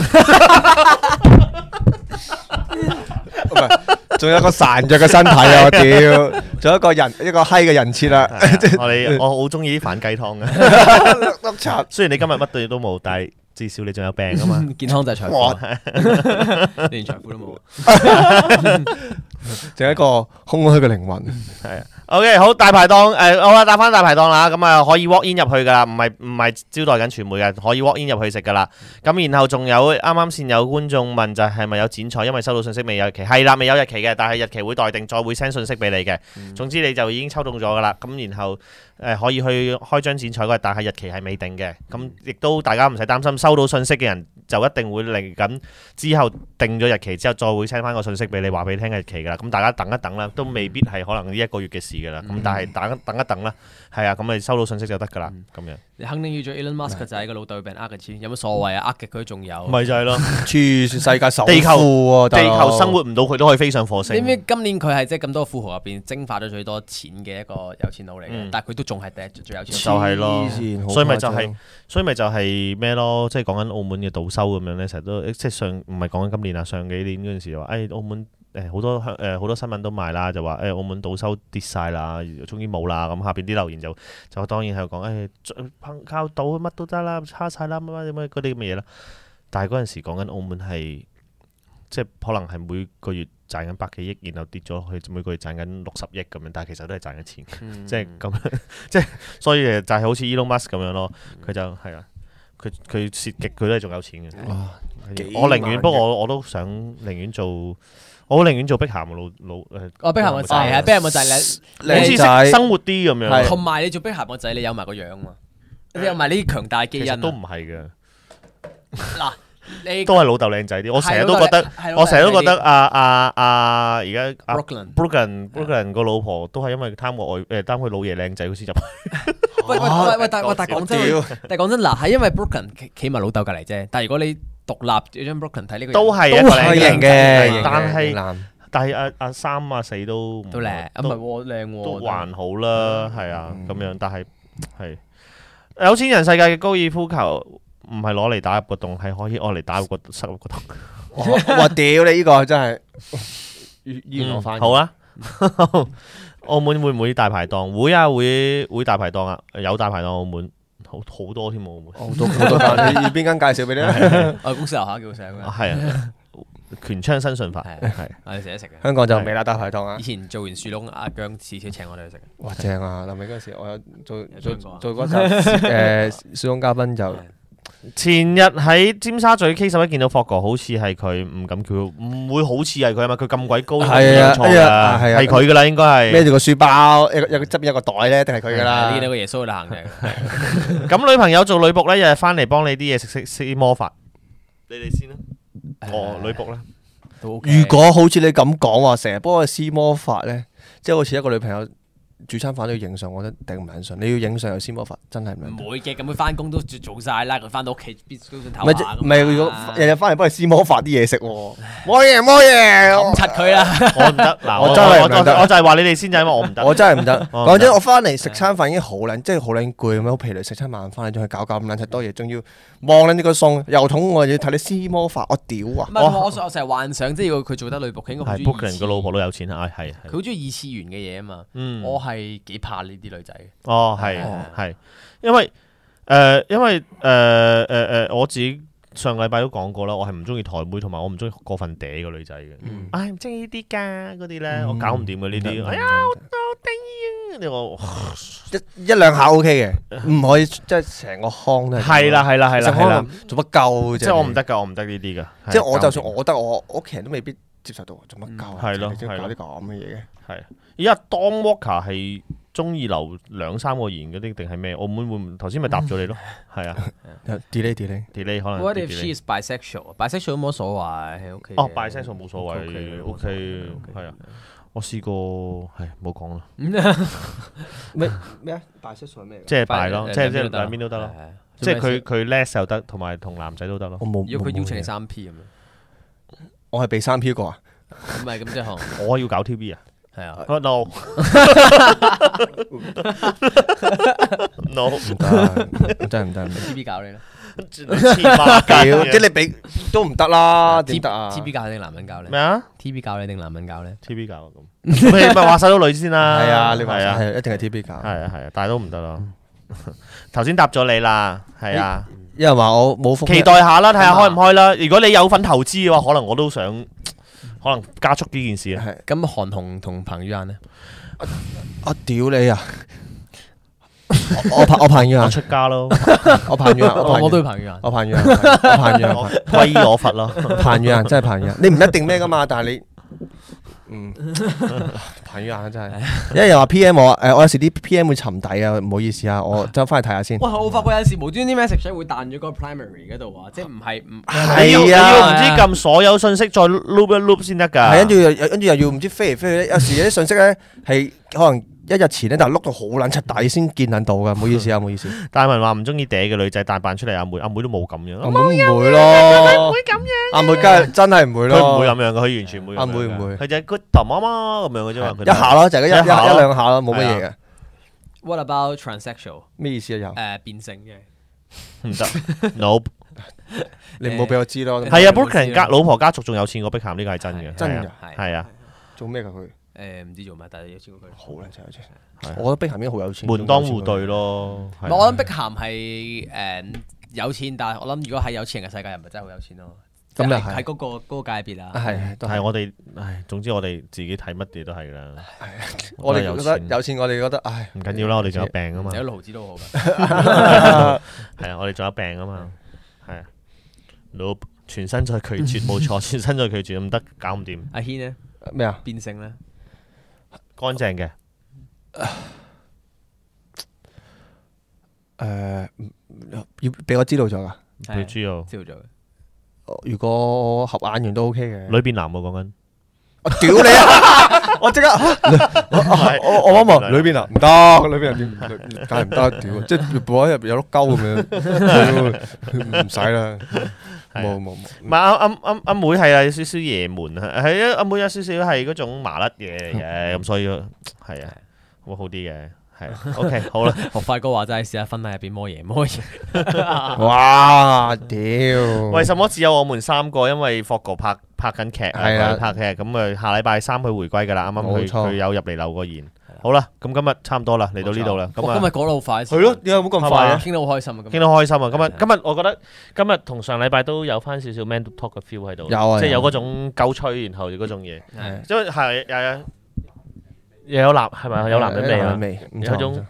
唔係，仲有一個孱弱嘅身體啊！我屌，仲有一個閪嘅人設啊！ 我好中意啲反雞湯嘅。雖然你今日乜都冇，但係至少你仲有病啊嘛。 健康就係財富，連財富都冇， 仲有一個空虛嘅靈魂。 係啊。OK， 好，大排檔好啦，打翻大排檔啦，咁啊可以 walk in 入去噶啦，唔係招待緊傳媒嘅，可以 walk in 入去食噶啦。咁然後仲有啱啱先有觀眾問就係咪有剪彩，因為收到信息未有日期，係啦，未有日期嘅，但係日期會待定，再會 send 信息俾你嘅。總之你就已經抽中咗噶啦，咁然後可以去開張剪彩嗰日，但係日期係未定嘅。咁亦都大家唔使擔心，收到信息嘅人就一定會嚟緊之後定咗日期之後，再會 send 翻個信息俾你，話俾你聽日期噶啦。咁大家等一等啦，都未必係可能呢一個月嘅事噶啦。咁但係等一等啦，係啊，咁你收到信息就得噶啦，咁樣。 你肯定要做 Elon Musk 就係個老豆俾人呃嘅錢，有乜所謂啊？呃極佢仲有。 咪就係咯， 全世界首富喎， 地球生活唔到佢都可以飛上火星。 你知今年佢係即係咁多富豪入邊蒸發咗最多錢嘅一個有錢佬嚟嘅，但係佢都仲係第一最有錢。 就係咯，所以咪就係咩咯？即係講緊澳門嘅賭收咁樣咧，成日都即係唔係講緊今年啊，上幾年嗰陣時就話，澳門好多新聞都賣啦，就話澳門賭收跌晒啦，終於冇啦。咁下邊啲留言就當然係講靠賭乜都得啦，差晒啦，乜嗰啲咁嘅嘢啦。但係嗰陣時講緊澳門係即係可能係每個月賺緊100幾億，然後跌咗去每個月賺緊60億咁樣，但係其實都係賺緊錢，即係咁樣，即係所以就係好似 Elon Musk 咁樣咯，佢就係啊，佢蝕極佢都係仲有錢嘅。我寧願，不過我都想寧願做。我寧願做碧咸嘅老碧咸個仔啊，碧咸個仔你好似識生活啲咁樣， 同埋你做碧咸個仔，你有埋個樣嘛？你有埋呢啲強大基因。 其實都唔係嘅。 嗱，你都係老豆靚仔啲。我成日都覺得而家 Brooklyn 個老婆都係因為貪佢老爺靚仔，佢先入去。 喂，但係講真，嗱，係因為 Brooklyn 企埋老豆隔離啫。但係如果你獨立將 Brooklyn 睇呢個都係靚嘅， 但係阿3啊4都靚，唔係喎靚喎， 都還好啦，係啊咁樣。但係有錢人世界嘅高爾夫球唔係攞嚟打入個洞，係可以攞嚟打入個塞入個洞。 哇屌你呢個真係我翻好啊！澳門會唔會大排檔？會啊，會大排檔啊，有大排檔澳門。好多添喎， 好多間，你要邊間介紹俾你咧？ 我公司樓下叫醒嘅。 係啊，權昌新順發係， 我哋成日食嘅。 香港就未啦，大排檔啊！ 以前做完樹窿，阿姜次次請我哋去食。 哇，正啊！臨尾嗰陣時，我有做嗰集樹窿嘉賓就。 前日喺尖沙咀 K11見到霍哥，好似係佢，唔敢叫，唔會好似係佢啊嘛！佢咁鬼高， 係啊， 係佢噶啦，應該係孭住個書包，有側邊有個袋咧，一定係佢噶啦。 你見到個耶穌喺度行嘅。 咁女朋友做女僕咧，日日翻嚟幫你啲嘢施魔法，你哋先啦。女僕咧， 如果好似你咁講話，成日幫佢施魔法咧，即係好似一個女朋友煮餐飯都要影相，我覺得頂唔撚順。你要影相有先魔法，真係唔會嘅，咁佢翻工都做晒啦，佢翻到屋企必須都想唞下。 唔係，如果日日翻嚟幫你施魔法啲嘢食喎，冇嘢， 冚柒佢啦！ 我唔得，嗱， 我真係唔得， 我就係話你哋先，就因為我唔得。 我真係唔得。講真，我翻嚟食餐飯已經好撚，即係好撚攰咁樣，好疲累。食餐晚飯你仲去搞咁撚柒多嘢，仲要望撚呢個餸，又肚餓，要睇你施魔法，我屌啊！ 我成日幻想，即係要佢做得女僕，應該好中意。 book 人個老婆都有錢啊，係佢好中意二次元嘅嘢啊嘛。我係幾怕呢啲女仔。 哦，係，因為我自己上禮拜都講過啦，我係唔中意台妹，同埋我唔中意過分嗲嘅女仔嘅。唔中意呢啲㗎，嗰啲咧我搞唔掂嘅呢啲。哎呀，好得意啊！呢個一兩下 OK 嘅，唔可以即係成個腔都係。 係啦， 做乜鳩啫？ 即係我唔得㗎，我唔得呢啲㗎。 即係我就算我得，我屋企人都未必接受到，做乜鳩？ 係咯， 搞啲咁嘅嘢嘅。 係。而家 Don Walker 係中意留2-3個言嗰啲定係咩？澳門會唔頭先咪答咗你咯？係啊 delay 可能。 What if she is bisexual？bisexual 都冇所謂，OK。 哦，bisexual 冇所謂，OK，係啊。我試過係冇講啦。 咩啊？bisexual 係咩？ 即係 bi 咯，即係兩邊都得咯。即係佢 les 又得，同埋同男仔都得咯。 我冇。 要佢邀請你3P 咁樣。 我係被3P 過啊？ 唔係咁即係我要搞 TV 啊？ 係啊。 No， 唔得，真係唔得。 TV 搞你啦。 即係你俾都唔得啦，點得啊 ？TV 教你定男人教你？ 咩啊 ？TV 教你定男人教你 ？TV 教咁，你咪話晒都女先啦。 係啊，你話係一定係 TV 教。 係啊，但係都唔得咯。頭先答咗你啦，係啊。 有人話我冇期待下啦，睇下開唔開啦。如果你有份投資嘅話，可能我都想，可能加速呢件事啊。 咁韓紅同彭于晏呢？ 我屌你啊！我彭于晏， 我出家咯。 我彭于晏， 我都要彭于晏。 我彭于晏，我彭于晏， 皈依我佛咯。 彭于晏真係彭于晏，你唔一定咩噶嘛，但係你。彭于晏真係，因為又話 PM 我，我有時啲 PM 會沉底啊，唔好意思啊，我走翻去睇下先。 哇！我發覺有時無端啲 message 會彈咗個 primary 嗰度啊，即係唔係你要唔知撳所有信息再 loop 一 loop 先得㗎。 係跟住又要唔知飛嚟飛去，有時有啲信息咧係可能1日前咧，但係碌到好撚柒底先見撚到㗎，唔好意思啊，唔好意思。 大文話唔中意嗲嘅女仔，但扮出嚟阿妹都冇咁樣。 阿妹唔會咯， 唔會咁樣。 阿妹梗係真係唔會咯。 佢唔會咁樣嘅，佢完全唔會。 阿妹唔會。 佢就係 good 媽媽咁樣嘅啫嘛。 一下咯，就係一兩下咯，冇乜嘢嘅。 What about transsexual？ 咩意思啊？又變性嘅唔得 ，nope。 你唔好俾我知咯。 係啊 ，Brooklyn 老婆家族仲有錢過碧咸，呢個係真嘅。 真㗎， 係啊。 做咩㗎佢？ 唔知做咩，但係有錢過佢。 好靚仔有錢。我覺得碧咸已經好有錢。 門當戶對咯。 我諗碧咸係有錢，但係我諗如果喺有錢人嘅世界，又唔係真係好有錢咯。咁又係喺嗰個界別啊。 係我哋，總之我哋自己睇乜嘢都係啦。 我哋覺得有錢，我哋覺得唉唔緊要啦，我哋仲有病啊嘛。 有毫子都好㗎。 係啊，我哋仲有病啊嘛。係啊。Nope，全身再拒絕冇錯，全身再拒絕唔得，搞唔掂。 阿軒呢？ 咩啊？ 變性咧？ 乾淨嘅。 要俾我知道咗㗎。 佢知道。 知道咗。 如果合眼緣都 OK 嘅。 女變男喎講緊。 我屌你啊！我即刻，我望裏邊啊，唔得，裏邊點？梗係唔得，屌！即係部喺入邊有碌鳩咁樣，唔使啦。冇。 唔係阿妹係啊，有少少爺門啊，係啊，阿妹有少少係嗰種麻甩嘢嘅，咁所以係啊，會好啲嘅。係 OK 好啦， 學快哥話齋，試下婚禮入邊摸嘢。 哇！屌！ 為什麼只有我們3個？因為霍哥拍緊劇， 係啊， 拍劇咁啊，下禮拜3佢回歸㗎啦。啱啱佢有入嚟留個言。好啦，咁今日差唔多啦，嚟到呢度啦。咁今日講得好快。 係咯，點解冇咁快啊？ 傾得好開心啊！ 傾得開心啊！今日我覺得今日同上禮拜都有翻少少 man talk 嘅 feel 喺度，即係有嗰種鳩吹，然後嗰種嘢，因為係又有男係咪有男人味啊？有種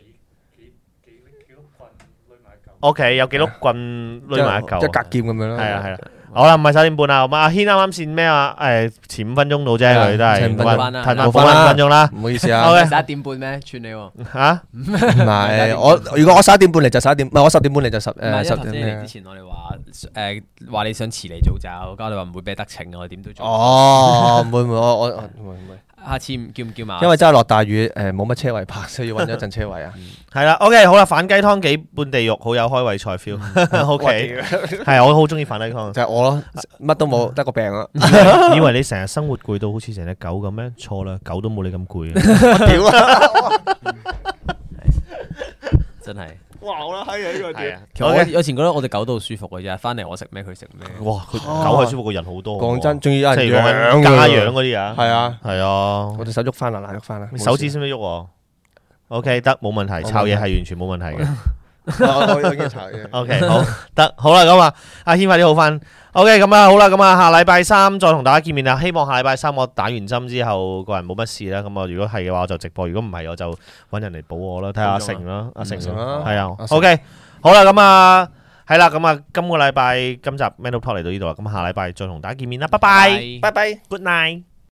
OK 有幾碌棍攆埋一嚿， 一格劍咁樣咯。 係啊。好啦，唔係9點半啦，阿軒啱啱先咩啊？前5分鐘到啫，佢都係冇 5分鐘啦。 唔好意思啊。 11點半咩？串你喎嚇？ 唔係如果我11點半嚟就11點，唔係我10點半嚟就10 點。之前我哋話你想遲嚟早走，交你話唔會俾得逞，我點都做。 唔會，我唔會。 下次叫唔叫馬？ 因為真係落大雨，冇乜車位泊，所以要揾咗陣車位啊。 係啦，OK，好啦，反雞湯幾半地獄，好有開胃菜 feel。OK，係我好中意反雞湯， 就係我咯，乜都冇，得個病啊。 以為你成日生活攰到好似成隻狗咁咩？錯啦，狗都冇你咁攰。 屌啊！ 真係。 哇！好啦，閪啊呢個屌。 其實我以前覺得我哋狗都好舒服嘅啫，翻嚟我食咩佢食咩。 哇！狗係舒服過人好多。 講真，仲要有人養家養嗰啲啊。 係啊， 係啊。 我隻手喐翻啦，喐翻啦。 手指識唔識喐？OK，得冇問題，炒嘢係完全冇問題嘅。 我已經炒嘢。 OK， 好得好啦，咁啊，阿軒快啲好翻。OK， 咁啊好啦，咁啊下禮拜三再同大家見面啦。希望下禮拜三我打完針之後個人冇乜事啦。咁啊如果係嘅話我就直播，如果唔係我就揾人嚟補我啦。睇下阿成啦，阿成係啊。OK， 好啦，咁啊係啦，咁啊今個禮拜今集 Mental Talk 嚟到呢度啦。咁下禮拜再同大家見面啦，拜拜， 拜拜， Good night。